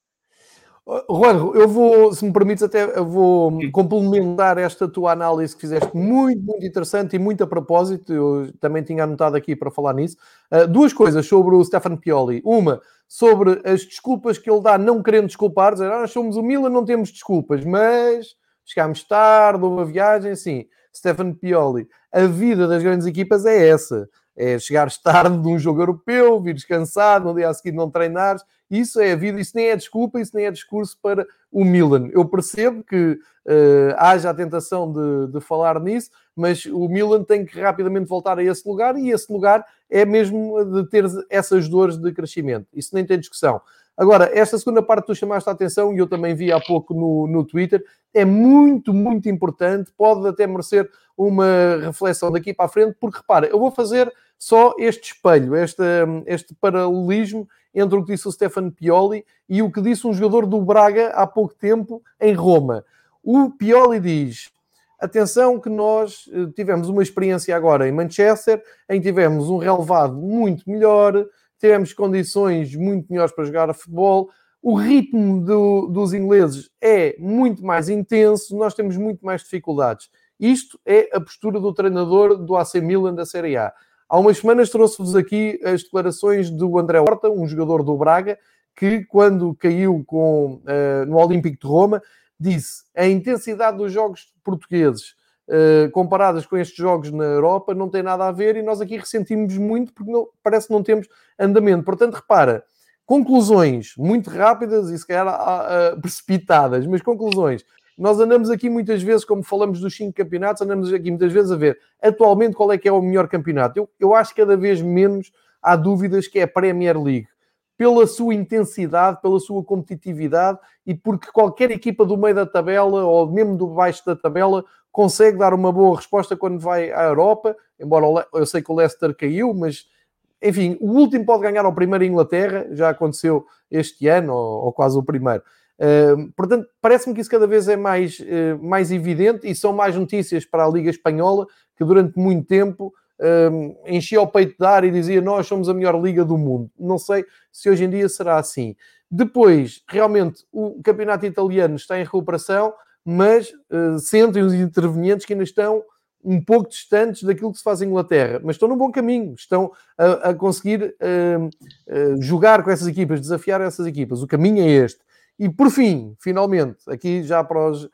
Juan, eu vou, se me permites, até eu vou complementar esta tua análise que fizeste, muito, muito interessante e muito a propósito. Eu também tinha anotado aqui para falar nisso. Uh, duas coisas sobre o Stefano Pioli. Uma, sobre as desculpas que ele dá, não querendo desculpar, dizer, ah, nós somos o Milan, não temos desculpas, mas chegámos tarde, houve uma viagem, assim. Stefano Pioli, a vida das grandes equipas é essa. É chegares tarde de um jogo europeu, vires cansado, no dia a seguir não treinares. Isso é a vida, isso nem é desculpa, isso nem é discurso para o Milan. Eu percebo que uh, haja a tentação de, de falar nisso, mas o Milan tem que rapidamente voltar a esse lugar e esse lugar é mesmo de ter essas dores de crescimento. Isso nem tem discussão. Agora, esta segunda parte que tu chamaste a atenção, e eu também vi há pouco no, no Twitter, é muito, muito importante, pode até merecer uma reflexão daqui para a frente, porque repara, eu vou fazer só este espelho, este, este paralelismo entre o que disse o Stefano Pioli e o que disse um jogador do Braga há pouco tempo em Roma. O Pioli diz, atenção que nós tivemos uma experiência agora em Manchester, em que tivemos um relevado muito melhor, tivemos condições muito melhores para jogar a futebol, o ritmo do, dos ingleses é muito mais intenso, nós temos muito mais dificuldades. Isto é a postura do treinador do A C Milan da Série A. Há umas semanas trouxe-vos aqui as declarações do André Horta, um jogador do Braga, que quando caiu com, uh, no Olímpico de Roma, disse a intensidade dos jogos portugueses uh, comparadas com estes jogos na Europa não tem nada a ver e nós aqui ressentimos muito porque não, parece que não temos andamento. Portanto, repara, conclusões muito rápidas e se calhar uh, uh, precipitadas, mas conclusões. Nós andamos aqui muitas vezes, como falamos dos cinco campeonatos, andamos aqui muitas vezes a ver atualmente qual é que é o melhor campeonato. Eu, eu acho que cada vez menos há dúvidas que é a Premier League. Pela sua intensidade, pela sua competitividade e porque qualquer equipa do meio da tabela ou mesmo do baixo da tabela consegue dar uma boa resposta quando vai à Europa. Embora eu sei que o Leicester caiu, mas enfim, o último pode ganhar ao primeiro em Inglaterra, já aconteceu este ano, ou, ou quase o primeiro. Uh, portanto, parece-me que isso cada vez é mais, uh, mais evidente e são mais notícias para a Liga Espanhola, que durante muito tempo uh, enchia o peito de ar e dizia nós somos a melhor liga do mundo. Não sei se hoje em dia será assim. Depois, realmente, o campeonato italiano está em recuperação, mas uh, sentem os intervenientes que ainda estão um pouco distantes daquilo que se faz em Inglaterra, mas estão no bom caminho, estão a, a conseguir uh, uh, jogar com essas equipas, desafiar essas equipas. O caminho é este. E, por fim, finalmente, aqui já para os,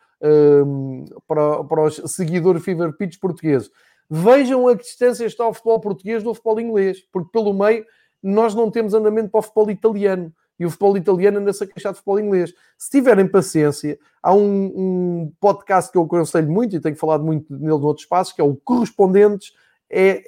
um, para, para os seguidores Fever Pitch portugueses, vejam a que distância está o futebol português do futebol inglês, porque pelo meio nós não temos andamento para o futebol italiano, e o futebol italiano anda-se a queixar de futebol inglês. Se tiverem paciência, há um, um podcast que eu aconselho muito, e tenho falado muito nele noutros espaços, que é o Correspondentes E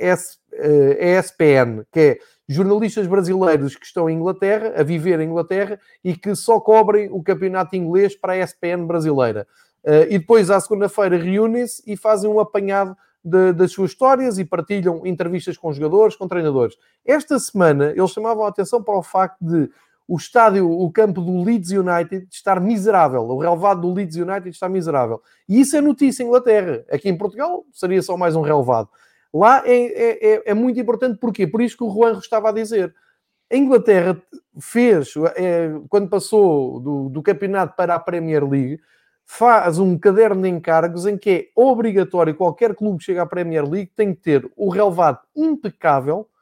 S P N, que é jornalistas brasileiros que estão em Inglaterra, a viver em Inglaterra, e que só cobrem o campeonato inglês para a E S P N brasileira. Uh, e depois, à segunda-feira, reúnem-se e fazem um apanhado de, das suas histórias e partilham entrevistas com jogadores, com treinadores. Esta semana, eles chamavam a atenção para o facto de o estádio, o campo do Leeds United estar miserável. O relevado do Leeds United está miserável. E isso é notícia em Inglaterra. Aqui em Portugal seria só mais um relevado. Lá é, é, é muito importante. Porquê? Por isso que o Juanjo estava a dizer. A Inglaterra fez, é, quando passou do, do campeonato para a Premier League, faz um caderno de encargos em que é obrigatório qualquer clube que chegue à Premier League tem que ter o relevado impecável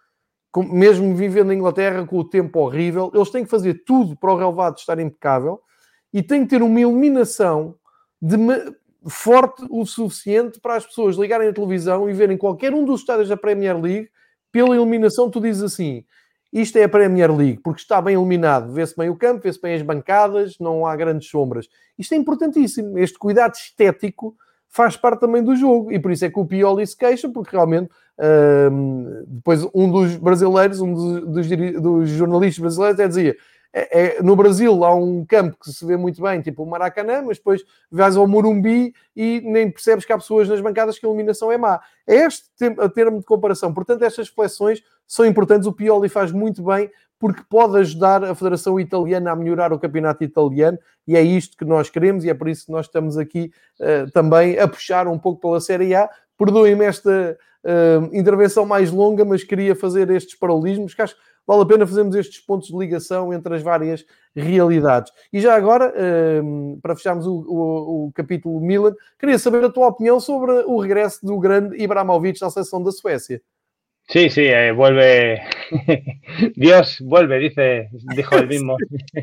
com, mesmo vivendo na Inglaterra com o tempo horrível, eles têm que fazer tudo para o relevado estar impecável e têm que ter uma iluminação de, forte o suficiente para as pessoas ligarem a televisão e verem qualquer um dos estádios da Premier League. Pela iluminação, tu dizes assim, isto é a Premier League, porque está bem iluminado, vê-se bem o campo, vê-se bem as bancadas, não há grandes sombras. Isto é importantíssimo. Este cuidado estético faz parte também do jogo, e por isso é que o Pioli se queixa, porque realmente hum, depois um dos brasileiros, um dos, dos, dos jornalistas brasileiros até dizia, é, é, no Brasil há um campo que se vê muito bem, tipo o Maracanã, mas depois vais ao Morumbi e nem percebes que há pessoas nas bancadas que a iluminação é má. É este a termo de comparação. Portanto, estas reflexões são importantes. O Pioli faz muito bem, porque pode ajudar a Federação Italiana a melhorar o campeonato italiano, e é isto que nós queremos, e é por isso que nós estamos aqui uh, também a puxar um pouco pela Série A. Perdoem-me esta uh, intervenção mais longa, mas queria fazer estes paralelismos, que acho que vale a pena fazermos estes pontos de ligação entre as várias realidades. E já agora, uh, para fecharmos o, o, o capítulo Milan, queria saber a tua opinião sobre o regresso do grande Ibrahimovic à seleção da Suécia. Sí, sí, eh, vuelve. Dios vuelve, dice, dijo él mismo.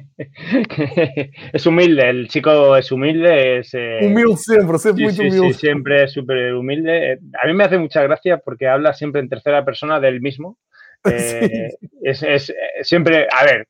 Es humilde, el chico es humilde. Es, eh... Humilde siempre, siempre sí, muy sí, humilde. Sí, siempre es súper humilde. A mí me hace mucha gracia porque habla siempre en tercera persona del mismo. Eh, sí. es, es siempre, a ver,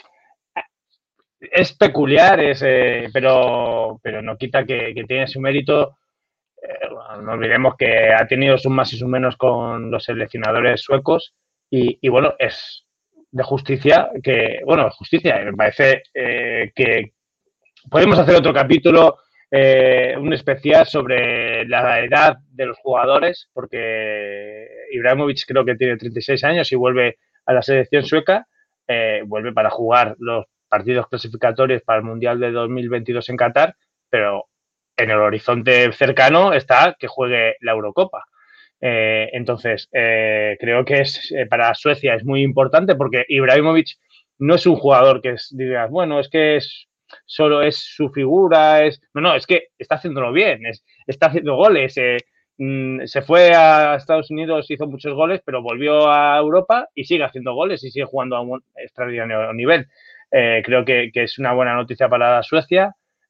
es peculiar, es, eh, pero, pero no quita que, que tiene su mérito. Eh, bueno, no olvidemos que ha tenido sus más y sus menos con los seleccionadores suecos y, y bueno, es de justicia que, bueno, justicia, me parece eh, que podemos hacer otro capítulo, eh, un especial sobre la edad de los jugadores, porque Ibrahimovic creo que tiene treinta y seis años y vuelve a la selección sueca, eh, vuelve para jugar los partidos clasificatorios para el Mundial de dos mil veintidós en Qatar, pero en el horizonte cercano está que juegue la Eurocopa. Eh, entonces, eh, creo que es eh, para Suecia es muy importante porque Ibrahimovic no es un jugador que es, digas, bueno, es que es, solo es su figura, es no, no, es que está haciéndolo bien, es, está haciendo goles. Eh, mm, se fue a Estados Unidos, hizo muchos goles, pero volvió a Europa y sigue haciendo goles y sigue jugando a un extraordinario nivel. Eh, creo que, que es una buena noticia para Suecia.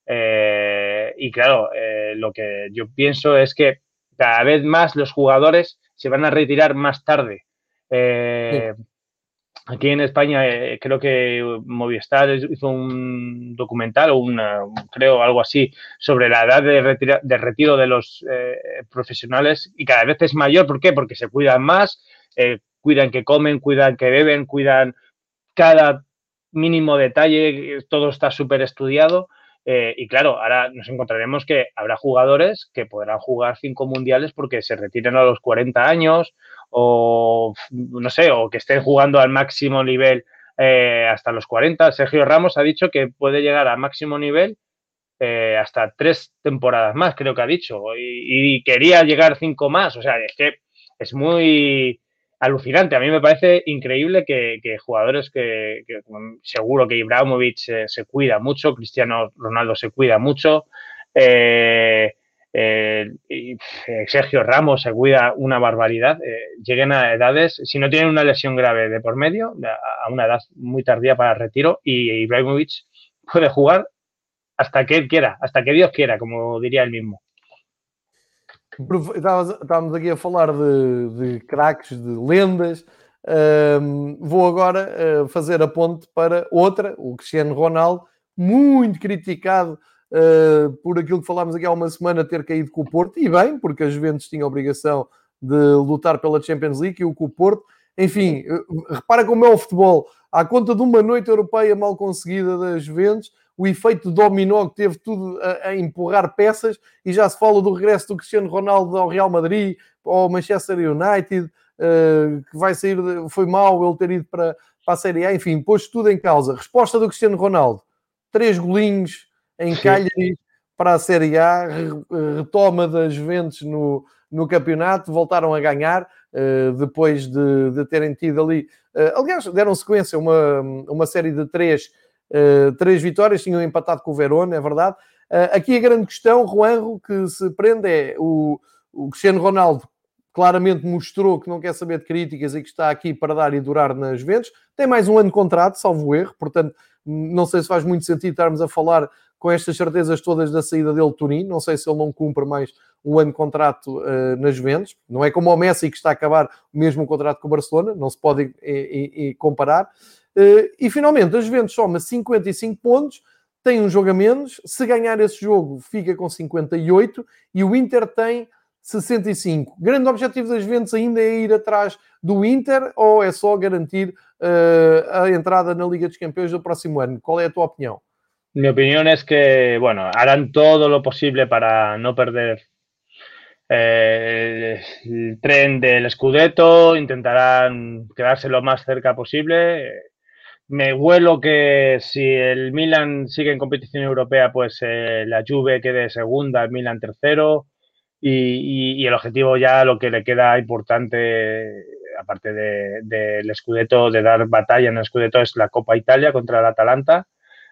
Eh, y claro, eh, lo que yo pienso es que cada vez más los jugadores se van a retirar más tarde. Eh, sí. Aquí en España eh, creo que Movistar hizo un documental o una, creo algo así sobre la edad de, retira, de retiro de los eh, profesionales y cada vez es mayor. ¿Por qué? Porque se cuidan más, eh, cuidan que comen, cuidan que beben, cuidan cada mínimo detalle, todo está súper estudiado. Eh, y claro, ahora nos encontraremos que habrá jugadores que podrán jugar cinco mundiales porque se retiren a los cuarenta años o, no sé, o que estén jugando al máximo nivel eh, hasta los cuarenta. Sergio Ramos ha dicho que puede llegar a máximo nivel eh, hasta tres temporadas más, creo que ha dicho, y, y quería llegar cinco más. O sea, es que es muy alucinante. A mí me parece increíble que, que jugadores que, que seguro que Ibrahimovic se, se cuida mucho, Cristiano Ronaldo se cuida mucho, eh, eh, y Sergio Ramos se cuida una barbaridad, eh, lleguen a edades, si no tienen una lesión grave de por medio, a una edad muy tardía para el retiro, y Ibrahimovic puede jugar hasta que él quiera, hasta que Dios quiera, como diría él mismo. Estávamos aqui a falar de, de craques, de lendas. Um, vou agora uh, fazer a ponte para outra, o Cristiano Ronaldo, muito criticado uh, por aquilo que falámos aqui há uma semana, ter caído com o Porto, e bem, porque a Juventus tinha a obrigação de lutar pela Champions League e o com o Porto. Enfim, uh, repara como é o futebol. À conta de uma noite europeia mal conseguida da Juventus, o efeito dominó que teve tudo a, a empurrar peças, e já se fala do regresso do Cristiano Ronaldo ao Real Madrid, ao Manchester United, uh, que vai sair, de, foi mau ele ter ido para, para a Série A, enfim, pôs tudo em causa. Resposta do Cristiano Ronaldo, três golinhos em Cagliari para a Série A, retoma das Juventus no, no campeonato, voltaram a ganhar, uh, depois de, de terem tido ali, uh, aliás, deram sequência uma, uma série de três Uh, três vitórias, tinham empatado com o Verona, é verdade. Uh, aqui a grande questão, Juanjo, que se prende é o, o Cristiano Ronaldo, claramente mostrou que não quer saber de críticas e que está aqui para dar e durar nas Juventus. Tem mais um ano de contrato, salvo erro, portanto, não sei se faz muito sentido estarmos a falar com estas certezas todas da saída dele de Turim. Não sei se ele não cumpre mais um ano de contrato uh, nas Juventus. Não é como o Messi, que está a acabar o mesmo contrato com o Barcelona, não se pode e, e, e comparar. Uh, e finalmente, a Juventus soma cinquenta e cinco pontos, tem um jogo a menos. Se ganhar esse jogo, fica com cinquenta e oito, e o Inter tem sessenta e cinco. Grande objetivo das Juventus ainda é ir atrás do Inter, ou é só garantir uh, a entrada na Liga dos Campeões do próximo ano? Qual é a tua opinião? Mi opinión es que, bueno, harán todo lo posible para no perder eh, el tren del Scudetto, intentarán quedarse lo más cerca posible. Me huelo que si el Milan sigue en competición europea, pues eh, la Juve quede segunda, el Milan tercero, y, y, y el objetivo ya, lo que le queda importante, aparte de, de, del Scudetto, de dar batalla en el Scudetto, es la Copa Italia contra el Atalanta.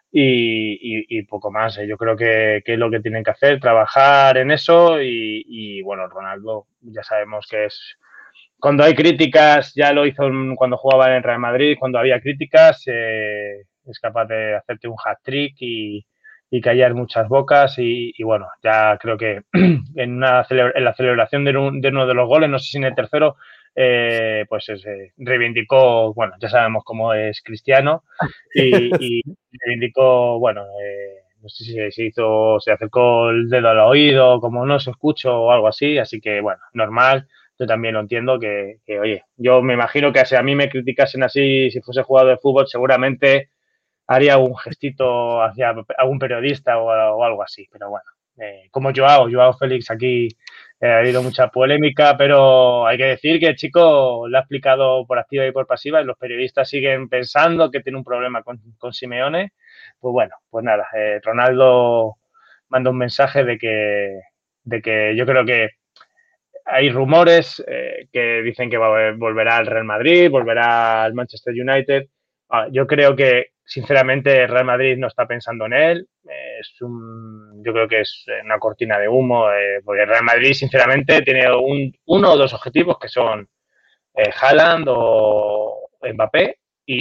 Y, y, y poco más. Yo creo que, que es lo que tienen que hacer, trabajar en eso y, y, bueno, Ronaldo ya sabemos que es... Cuando hay críticas, ya lo hizo cuando jugaba en el Real Madrid, cuando había críticas, eh, es capaz de hacerte un hat-trick y, y callar muchas bocas y, y bueno, ya creo que en, una en la celebración de, un, de uno de los goles, no sé si en el tercero, eh, pues eh, reivindicó, bueno, ya sabemos cómo es Cristiano y, y reivindicó, bueno, eh, no sé si se hizo, se acercó el dedo al oído, como no se escucho o algo así, así que bueno, normal, yo también lo entiendo que, que oye, yo me imagino que si a mí me criticasen así, si fuese jugador de fútbol, seguramente haría un gestito hacia algún periodista o, o algo así, pero bueno, eh, como Joao, Joao Félix aquí eh, ha habido mucha polémica, pero hay que decir que el chico lo ha explicado por activa y por pasiva y los periodistas siguen pensando que tiene un problema con, con Simeone. Pues bueno, pues nada, eh, Ronaldo manda un mensaje de que, de que yo creo que hay rumores eh, que dicen que va, volverá al Real Madrid, volverá al Manchester United. Ah, yo creo que, sinceramente, el Real Madrid no está pensando en él. Eh, es un, yo creo que es una cortina de humo, eh, porque el Real Madrid, sinceramente, tiene un, uno o dos objetivos que son eh, Haaland o Mbappé.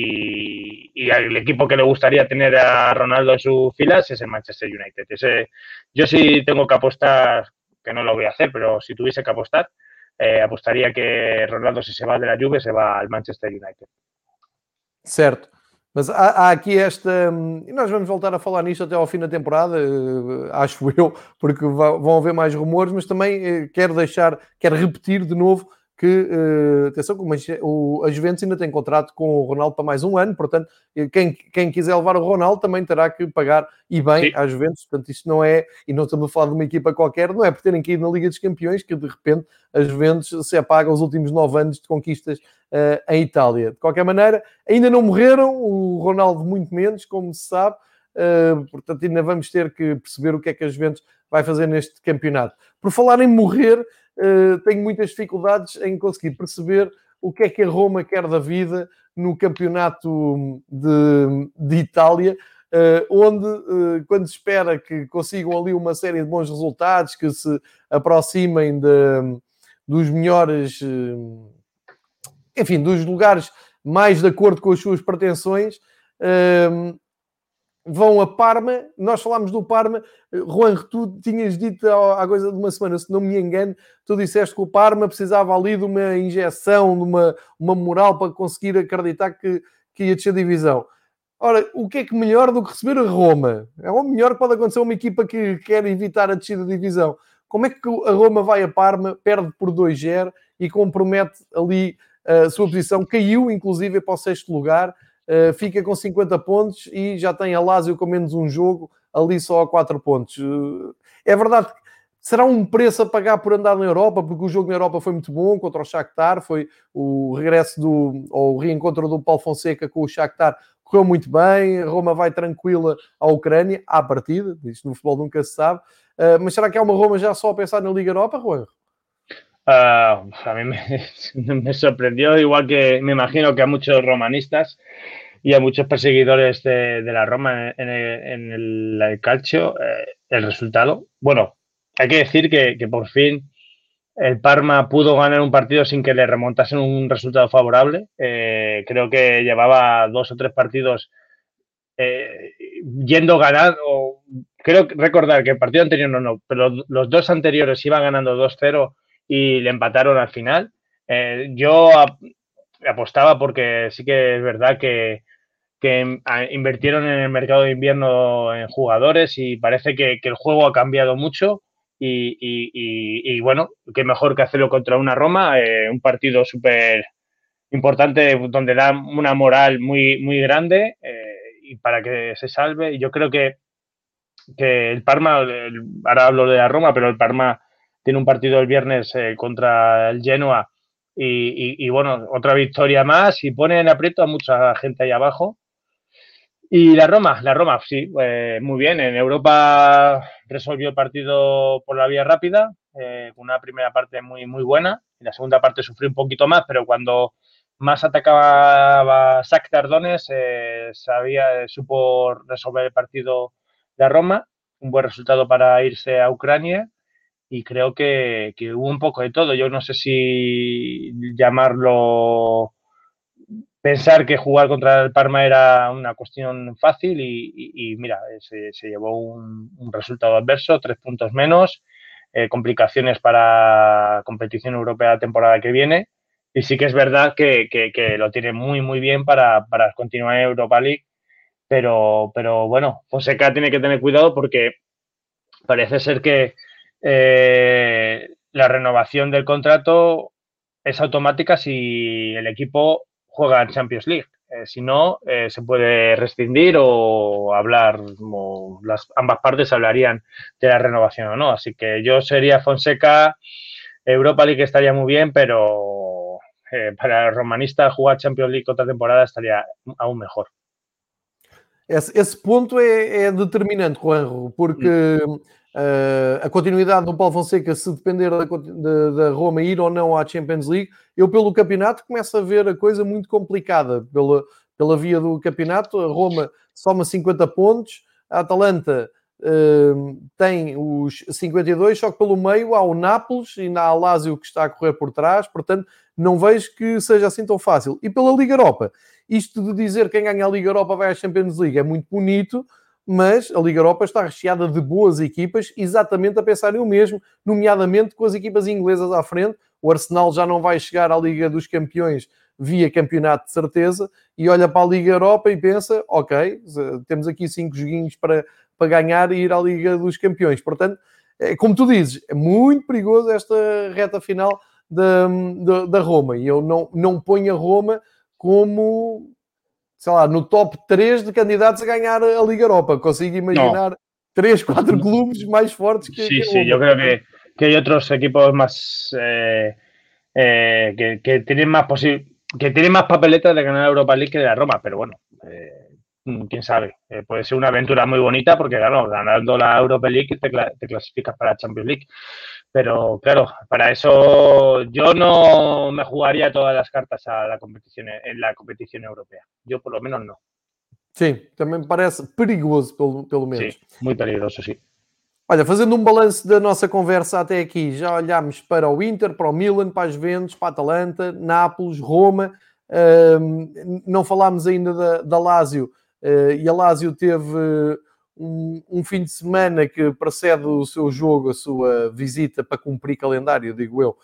Y, y el equipo que le gustaría tener a Ronaldo en sus filas es el Manchester United. Ese, yo sí tengo que apostar, que no lo voy a hacer, pero si tuviese que apostar, eh, apostaría que Ronaldo, si se va de la Juve, se va al Manchester United. Certo. Mas há, há aqui esta... E nós vamos voltar a falar nisto até ao fim da temporada, acho eu, porque vão haver mais rumores, mas também quero deixar, quero repetir de novo que, uh, atenção, que o, a Juventus ainda tem contrato com o Ronaldo para mais um ano, portanto, quem, quem quiser levar o Ronaldo também terá que pagar, e bem, Sim. à Juventus. Portanto, isto não é, e não estamos a falar de uma equipa qualquer, não é por terem que ir na Liga dos Campeões que, de repente, a Juventus se apaga os últimos nove anos de conquistas uh, em Itália. De qualquer maneira, ainda não morreram, o Ronaldo muito menos, como se sabe, uh, portanto, ainda vamos ter que perceber o que é que a Juventus vai fazer neste campeonato. Por falar em morrer, Uh, tenho muitas dificuldades em conseguir perceber o que é que a Roma quer da vida no campeonato de, de Itália, uh, onde, uh, quando se espera que consigam ali uma série de bons resultados, que se aproximem de, dos melhores, uh, enfim, dos lugares mais de acordo com as suas pretensões, uh, vão a Parma. Nós falámos do Parma. Juan, tu tinhas dito há coisa de uma semana, se não me engano, tu disseste que o Parma precisava ali de uma injeção, de uma, uma moral para conseguir acreditar que, que ia descer a divisão. Ora, o que é que melhor do que receber a Roma? É o melhor que pode acontecer a uma equipa que quer evitar a descida da divisão. Como é que a Roma vai a Parma, perde por dois zero e compromete ali a sua posição? Caiu, inclusive, para o sexto lugar. Uh, fica com cinquenta pontos e já tem a Lazio com menos um jogo, ali só a quatro pontos. Uh, é verdade que será um preço a pagar por andar na Europa, porque o jogo na Europa foi muito bom contra o Shakhtar, foi o regresso do, ou o reencontro do Paulo Fonseca com o Shakhtar, correu muito bem. A Roma vai tranquila à Ucrânia, à partida, isto no futebol nunca se sabe. Uh, mas será que é uma Roma já só a pensar na Liga Europa, Juan? Uh, a mí me, me sorprendió, igual que me imagino que a muchos romanistas y a muchos perseguidores de, de la Roma en el, en el, el calcio, eh, el resultado. Bueno, hay que decir que, que por fin el Parma pudo ganar un partido sin que le remontasen un resultado favorable. Eh, creo que llevaba dos o tres partidos eh, yendo ganando. Creo recordar que el partido anterior no, no, pero los dos anteriores iban ganando dos cero y le empataron al final. Eh, yo ap apostaba porque sí que es verdad que, que invirtieron en el mercado de invierno en jugadores y parece que, que el juego ha cambiado mucho. Y, y, y, y, bueno, qué mejor que hacerlo contra una Roma, eh, un partido súper importante donde da una moral muy, muy grande eh, y para que se salve. Y yo creo que, que el Parma, el, ahora hablo de la Roma, pero el Parma tiene un partido el viernes eh, contra el Genoa y, y, y bueno, otra victoria más y pone en aprieto a mucha gente ahí abajo. Y la Roma, la Roma, sí, eh, muy bien. En Europa resolvió el partido por la vía rápida, eh, con una primera parte muy, muy buena. En la segunda parte sufrió un poquito más, pero cuando más atacaba Shakhtar Donetsk, eh, sabía, supo resolver el partido la Roma. Un buen resultado para irse a Ucrania. Y creo que, que hubo un poco de todo. Yo no sé si llamarlo pensar que jugar contra el Parma era una cuestión fácil y, y, y mira, se, se llevó un, un resultado adverso, tres puntos menos, eh, complicaciones para competición europea la temporada que viene y sí que es verdad que, que, que lo tiene muy muy bien para, para continuar en Europa League, pero, pero bueno, Fonseca tiene que tener cuidado porque parece ser que eh, la renovación del contrato es automática si el equipo juega en Champions League. Eh, si no, eh, se puede rescindir o hablar, o las, ambas partes hablarían de la renovación o no. Así que yo sería Fonseca, Europa League estaría muy bien, pero eh, para el romanista jugar Champions League otra temporada estaría aún mejor. Esse, esse ponto é, é determinante, Juanjo, porque hum. uh, a continuidade do Paulo Fonseca, se depender da, da, da Roma ir ou não à Champions League, eu pelo campeonato começo a ver a coisa muito complicada pela, pela via do campeonato. A Roma soma cinquenta pontos, a Atalanta uh, tem os cinquenta e dois, só que pelo meio há o Nápoles e há a Lazio que está a correr por trás, portanto não vejo que seja assim tão fácil. E pela Liga Europa, isto de dizer que quem ganha a Liga Europa vai à Champions League é muito bonito, mas a Liga Europa está recheada de boas equipas, exatamente a pensarem o mesmo, nomeadamente com as equipas inglesas à frente. O Arsenal já não vai chegar à Liga dos Campeões via campeonato de certeza, e olha para a Liga Europa e pensa, ok, temos aqui cinco joguinhos para, para ganhar e ir à Liga dos Campeões. Portanto, como tu dizes, é muito perigoso esta reta final da, da, da Roma, e eu não, não ponho a Roma como, sei lá, no top três de candidatos a ganhar a Liga Europa. Consigo imaginar no. três, quatro clubes más fuertes que, sí, que sí, yo creo que, que hay otros equipos más eh, eh, que, que tienen más posible, que tienen más papeletas de ganar Europa League que de la Roma, pero bueno, eh, quién sabe, eh, puede ser una aventura muy bonita porque claro, ganando la Europa League te, te clasificas para la Champions League. Pero claro, para eso yo no me jugaría todas las cartas a la competición, en la competición europea. Yo por lo menos no. Sim, também me parece perigoso, pelo, pelo menos. Sim, muito perigoso, sim. Olha, fazendo um balanço da nossa conversa até aqui, já olhámos para o Inter, para o Milan, para as Juventus, para a Atalanta, Nápoles, Roma. Um, não falámos ainda da, da Lazio, uh, e a Lazio teve um, um fim de semana que precede o seu jogo, a sua visita para cumprir calendário, digo eu,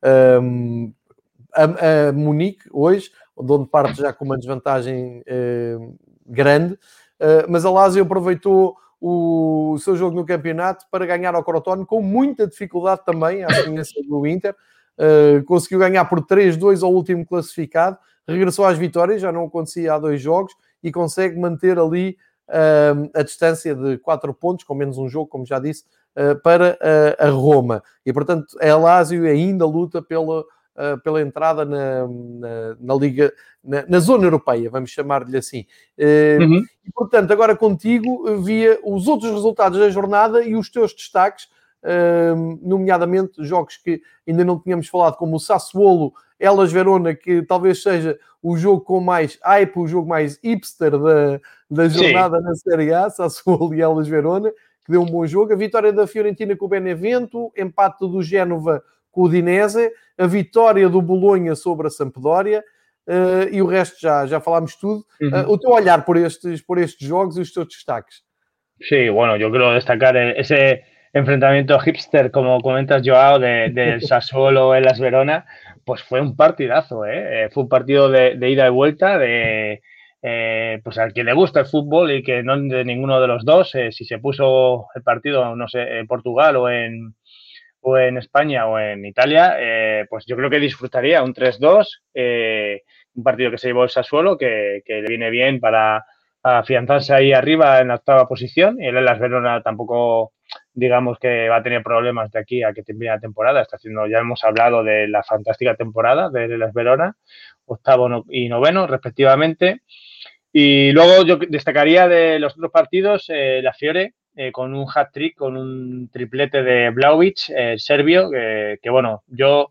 um, a, a Munique, hoje, onde parte já com uma desvantagem uh, grande, uh, mas a Lazio aproveitou o seu jogo no campeonato para ganhar ao Crotone com muita dificuldade também, à semelhança do Inter. Uh, conseguiu ganhar por três dois ao último classificado, regressou às vitórias, já não acontecia há dois jogos, e consegue manter ali uh, a distância de quatro pontos, com menos um jogo, como já disse, uh, para uh, a Roma. E, portanto, a Lazio ainda luta pela, uh, pela entrada na, na, na Liga, na, na zona europeia, vamos chamar-lhe assim. Uh, uhum. E, portanto, agora contigo, via os outros resultados da jornada e os teus destaques, Uh, nomeadamente jogos que ainda não tínhamos falado, como o Sassuolo Hellas Verona, que talvez seja o jogo com mais hype, o jogo mais hipster da, da jornada. Sim. Na Série A, Sassuolo e Hellas Verona, que deu um bom jogo. A vitória da Fiorentina com o Benevento, empate do Génova com o Udinese, a vitória do Bolonha sobre a Sampdoria, uh, e o resto já, já falámos tudo. Uh, uh-huh. O teu olhar por estes, por estes jogos e os teus destaques. Sí, bueno, yo quiero destacar ese enfrentamiento hipster, como comentas, Joao, de, del Sassuolo en Las Verona, pues fue un partidazo, ¿eh? Fue un partido de, de ida y vuelta, de eh, pues al que le gusta el fútbol y que no de ninguno de los dos, eh, si se puso el partido, no sé, en Portugal o en, o en España o en Italia, eh, pues yo creo que disfrutaría un tres dos, eh, un partido que se llevó el Sassuolo, que, que le viene bien para afianzarse ahí arriba en la octava posición, y el Las Verona tampoco, digamos que va a tener problemas de aquí a que termine la temporada. Está haciendo, ya hemos hablado de la fantástica temporada de Las Verona, octavo y noveno respectivamente. Y luego yo destacaría de los otros partidos eh, la Fiore, eh, con un hat-trick, con un triplete de Vlahovic, eh, serbio, que, que bueno, yo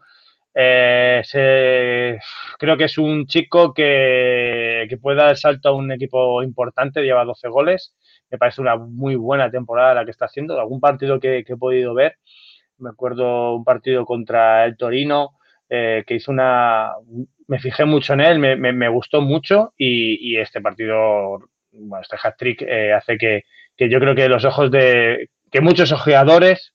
eh, se, creo que es un chico que, que puede dar el salto a un equipo importante, lleva doce goles, me parece una muy buena temporada la que está haciendo. Algún partido que, que he podido ver, me acuerdo un partido contra el Torino, eh, que hizo una... Me fijé mucho en él, me, me, me gustó mucho, y, y este partido, bueno, este hat-trick eh, hace que, que yo creo que los ojos de... que muchos ojeadores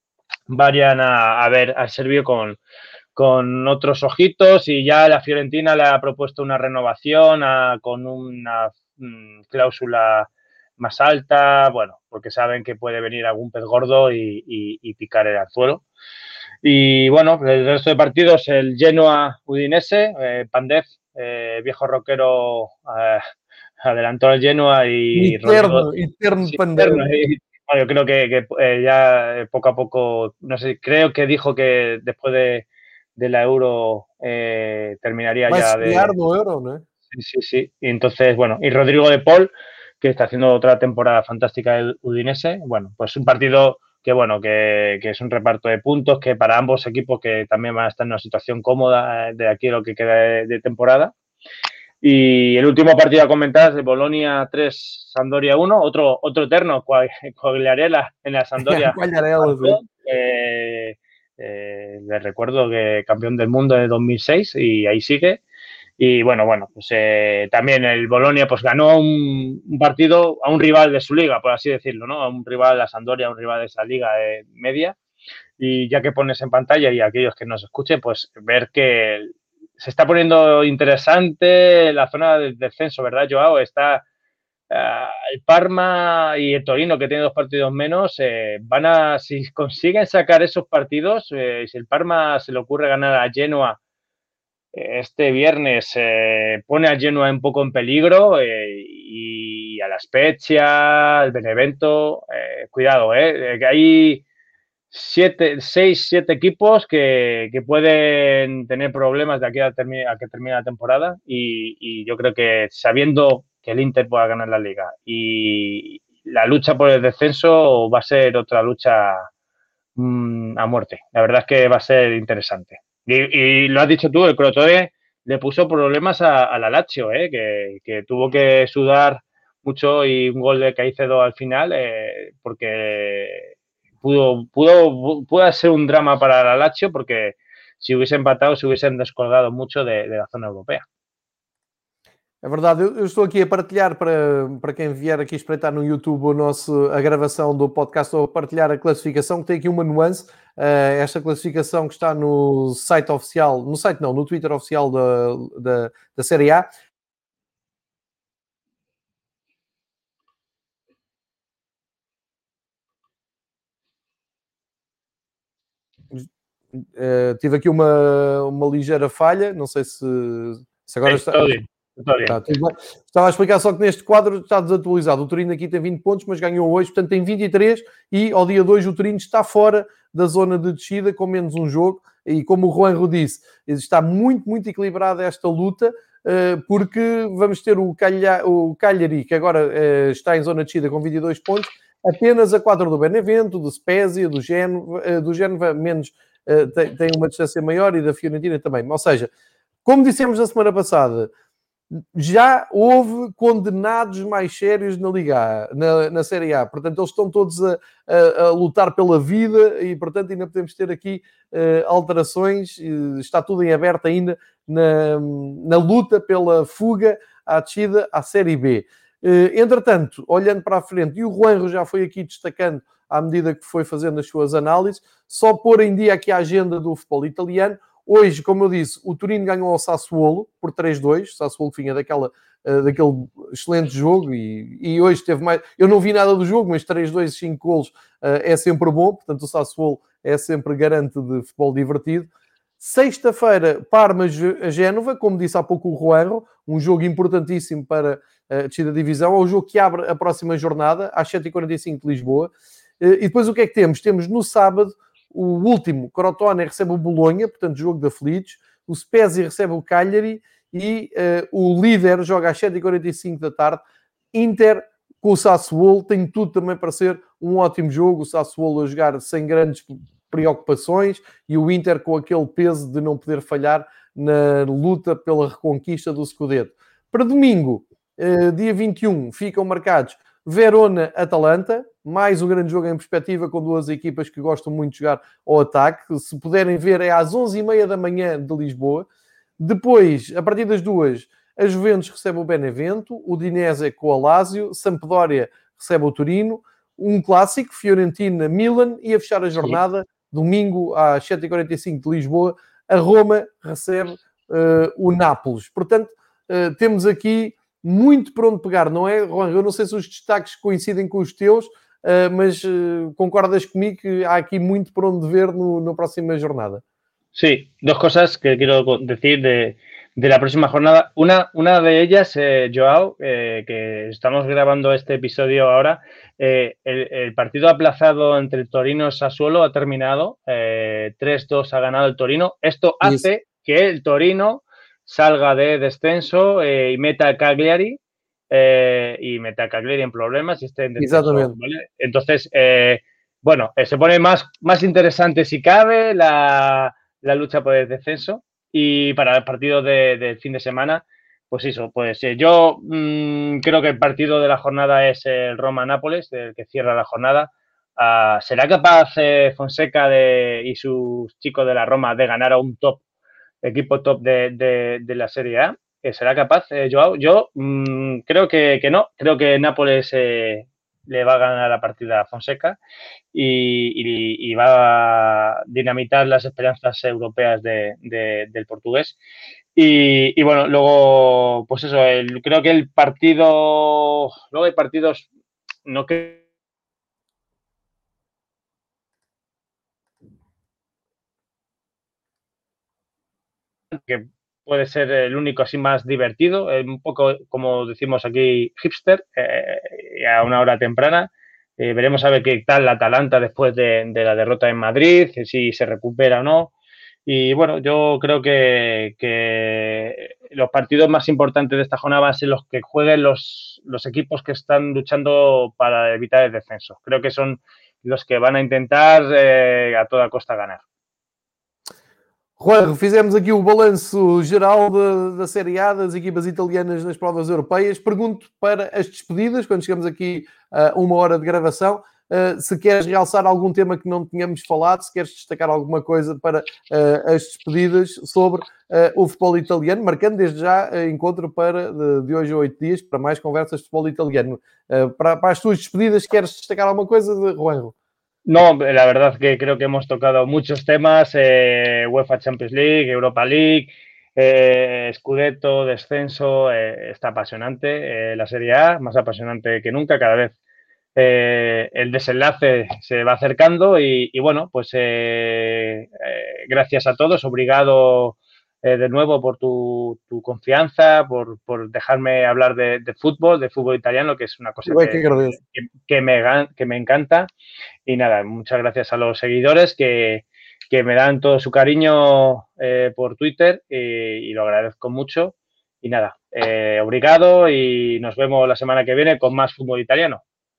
vayan a, a ver al serbio con, con otros ojitos, y ya la Fiorentina le ha propuesto una renovación a, con una mm, cláusula más alta, bueno, porque saben que puede venir algún pez gordo y, y, y picar el anzuelo. Y bueno, el resto de partidos, el Genoa Udinese, eh, Pandev, eh, viejo rockero, eh, adelantó al Genoa y... Eterno, eterno sí, Pandev. Eterno, y, bueno, yo creo que, que eh, ya poco a poco, no sé, creo que dijo que después de, de la Euro eh, terminaría Vai ya de... no Euro, ¿no? Sí, sí, sí. Y entonces, bueno, y Rodrigo de Paul, que está haciendo otra temporada fantástica del Udinese, bueno, pues un partido que bueno, que, que es un reparto de puntos, que para ambos equipos que también van a estar en una situación cómoda de aquí a lo que queda de, de temporada. Y el último partido a comentar es de Bolonia tres, Sampdoria uno, otro, otro eterno, Quagliarella en la Sampdoria. eh, eh, les recuerdo que campeón del mundo en dos mil seis y ahí sigue. Y bueno, bueno, pues eh, también el Bolonia pues ganó un, un partido a un rival de su liga, por así decirlo, ¿no? A un rival, la Sampdoria, un rival de esa liga eh, media. Y ya que pones en pantalla, y aquellos que nos escuchen, pues ver que se está poniendo interesante la zona del descenso, ¿verdad, Joao? Está uh, el Parma y el Torino, que tiene dos partidos menos, eh, van a, si consiguen sacar esos partidos, eh, si el Parma se le ocurre ganar a Genoa este viernes, eh, pone a Genoa un poco en peligro, eh, y a la Spezia, al Benevento, eh, cuidado, eh, que hay siete, seis, siete equipos que, que pueden tener problemas de aquí a, termi a que termine la temporada, y, y yo creo que sabiendo que el Inter pueda ganar la Liga y la lucha por el descenso va a ser otra lucha mmm, a muerte. La verdad es que va a ser interesante. Y, y lo has dicho tú, el Crotone le puso problemas a, a la Lazio, ¿eh? que, que tuvo que sudar mucho, y un gol de Caicedo al final, eh, porque pudo, pudo, pudo ser un drama para la Lazio, porque si hubiese empatado se hubiesen descolgado mucho de, de la zona europea. É verdade, eu, eu estou aqui a partilhar para, para quem vier aqui espreitar no YouTube o nosso, a gravação do podcast, estou a partilhar a classificação, que tem aqui uma nuance, uh, esta classificação que está no site oficial, no site não, no Twitter oficial da, da, da Série A. Uh, tive aqui uma, uma ligeira falha, não sei se, se agora está... Tá, estava a explicar só que neste quadro está desatualizado. O Torino aqui tem vinte pontos, mas ganhou hoje, portanto tem vinte e três, e ao dia dois o Torino está fora da zona de descida com menos um jogo, e como o Juanjo disse, está muito, muito equilibrada esta luta, porque vamos ter o, Calha, o Cagliari, que agora está em zona de descida com vinte e dois pontos, apenas a quatro do Benevento, do Spezia, do Génova, do Génova menos, tem, tem uma distância maior, e da Fiorentina também. Ou seja, como dissemos na semana passada, já houve condenados mais sérios na Liga A, na, na Série A. Portanto, eles estão todos a, a, a lutar pela vida e, portanto, ainda podemos ter aqui uh, alterações. Uh, está tudo em aberto ainda na, na luta pela fuga à descida à Série B. Uh, entretanto, olhando para a frente, e o Juanjo já foi aqui destacando à medida que foi fazendo as suas análises, só pôr em dia aqui a agenda do futebol italiano. Hoje, como eu disse, o Torino ganhou ao Sassuolo por três dois. O Sassuolo vinha daquela, uh, daquele excelente jogo e, e hoje teve mais... Eu não vi nada do jogo, mas três dois, cinco golos uh, é sempre bom. Portanto, o Sassuolo é sempre garante de futebol divertido. Sexta-feira, Parma-Génova, como disse há pouco o Juanjo, um jogo importantíssimo para a descida da divisão. É o jogo que abre a próxima jornada, às sete e quarenta e cinco de Lisboa. Uh, e depois o que é que temos? Temos no sábado o último, Crotone recebe o Bolonha, portanto, jogo de aflitos. O Spezia recebe o Cagliari e uh, o líder joga às sete e quarenta e cinco da tarde. Inter com o Sassuolo, tem tudo também para ser um ótimo jogo. O Sassuolo a jogar sem grandes preocupações e o Inter com aquele peso de não poder falhar na luta pela reconquista do Scudetto. Para domingo, uh, dia vinte e um, ficam marcados Verona-Atalanta, mais um grande jogo em perspectiva com duas equipas que gostam muito de jogar ao ataque. Se puderem ver, é às onze e meia da manhã de Lisboa. Depois, a partir das duas, a Juventus recebe o Benevento, o Udinese com o Lazio, Sampdoria recebe o Torino, um clássico, Fiorentina-Milan, e a fechar a jornada, domingo às sete e quarenta e cinco de Lisboa, a Roma recebe uh, o Nápoles. Portanto, uh, temos aqui muito por onde pegar, não é, Juan? Eu não sei se os destaques coincidem com os teus, uh, mas uh, concordas comigo que há aqui muito por onde ver no, na próxima jornada. Sí, dos cosas que quiero decir de, de la próxima jornada. Una, una de ellas, eh, Joao, eh, que estamos grabando este episodio ahora, eh, el, el partido aplazado entre Torino y Sassuolo ha terminado, eh, tres dos ha ganado el Torino. Esto hace yes. que el Torino salga de descenso eh, y meta a Cagliari eh, y meta a Cagliari en problemas y esté en descenso, ¿vale? Entonces, eh, bueno, eh, se pone más, más interesante si cabe la, la lucha por el descenso y para el partido del de fin de semana, pues eso, pues eh, yo mmm, creo que el partido de la jornada es el Roma-Nápoles, el que cierra la jornada. Uh, ¿Será capaz eh, Fonseca de, y sus chicos de la Roma de ganar a un top equipo top de, de, de la Serie A? ¿Será capaz, eh, Joao? Yo mmm, creo que, que no. Creo que Nápoles eh, le va a ganar la partida a Fonseca y, y, y va a dinamitar las esperanzas europeas de, de, del portugués. Y, y bueno, luego, pues eso, el, creo que el partido... Luego hay partidos... No que que puede ser el único así más divertido, un poco como decimos aquí hipster, eh, a una hora temprana. Eh, veremos a ver qué tal la Atalanta después de, de la derrota en Madrid, si se recupera o no. Y bueno, yo creo que, que los partidos más importantes de esta jornada van a ser los que jueguen los, los equipos que están luchando para evitar el descenso. Creo que son los que van a intentar eh, a toda costa ganar. Juan, fizemos aqui o balanço geral da, da Série A, das equipas italianas nas provas europeias. Pergunto para as despedidas, quando chegamos aqui a uh, uma hora de gravação, uh, se queres realçar algum tema que não tínhamos falado, se queres destacar alguma coisa para uh, as despedidas sobre uh, o futebol italiano, marcando desde já uh, encontro para de, de hoje a oito dias para mais conversas de futebol italiano. Uh, para, para as tuas despedidas, queres destacar alguma coisa, Juanjo? No, la verdad que creo que hemos tocado muchos temas, eh, UEFA Champions League, Europa League, eh, Scudetto, descenso, eh, está apasionante eh, la Serie A, más apasionante que nunca, cada vez eh, el desenlace se va acercando y, y bueno, pues eh, eh, gracias a todos, obrigado eh, de nuevo por tu, tu confianza, por, por dejarme hablar de, de fútbol, de fútbol italiano, que es una cosa que, que, que, me, que me encanta. Y nada, muchas gracias a los seguidores que, que me dan todo su cariño eh, por Twitter y, y lo agradezco mucho. Y nada, eh, obrigado y nos vemos la semana que viene con más fútbol italiano.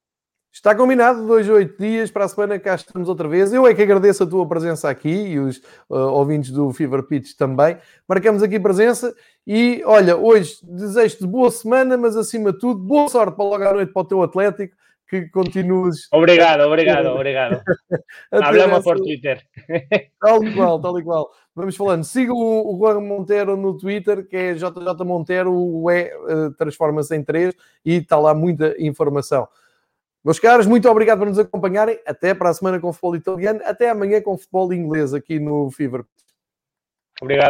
Está combinado, dois a oito dias, para a semana cá estamos outra vez. Eu é que agradeço a tua presença aqui e os uh, ouvintes do Fever Pitch também. Marcamos aqui presença e, olha, hoje desejo-te boa semana, mas acima de tudo, boa sorte para logo à noite para o teu Atlético, que continues... Obrigado, obrigado, obrigado. Hablamos por Twitter. Tal e qual, tal e qual. Vamos falando. Siga o, o Juan Montero no Twitter, que é J J Montero, o E uh, transforma-se em três e está lá muita informação. Meus caros, muito obrigado por nos acompanharem. Até para a semana com o futebol italiano. Até amanhã com o futebol inglês aqui no Fever. Obrigado.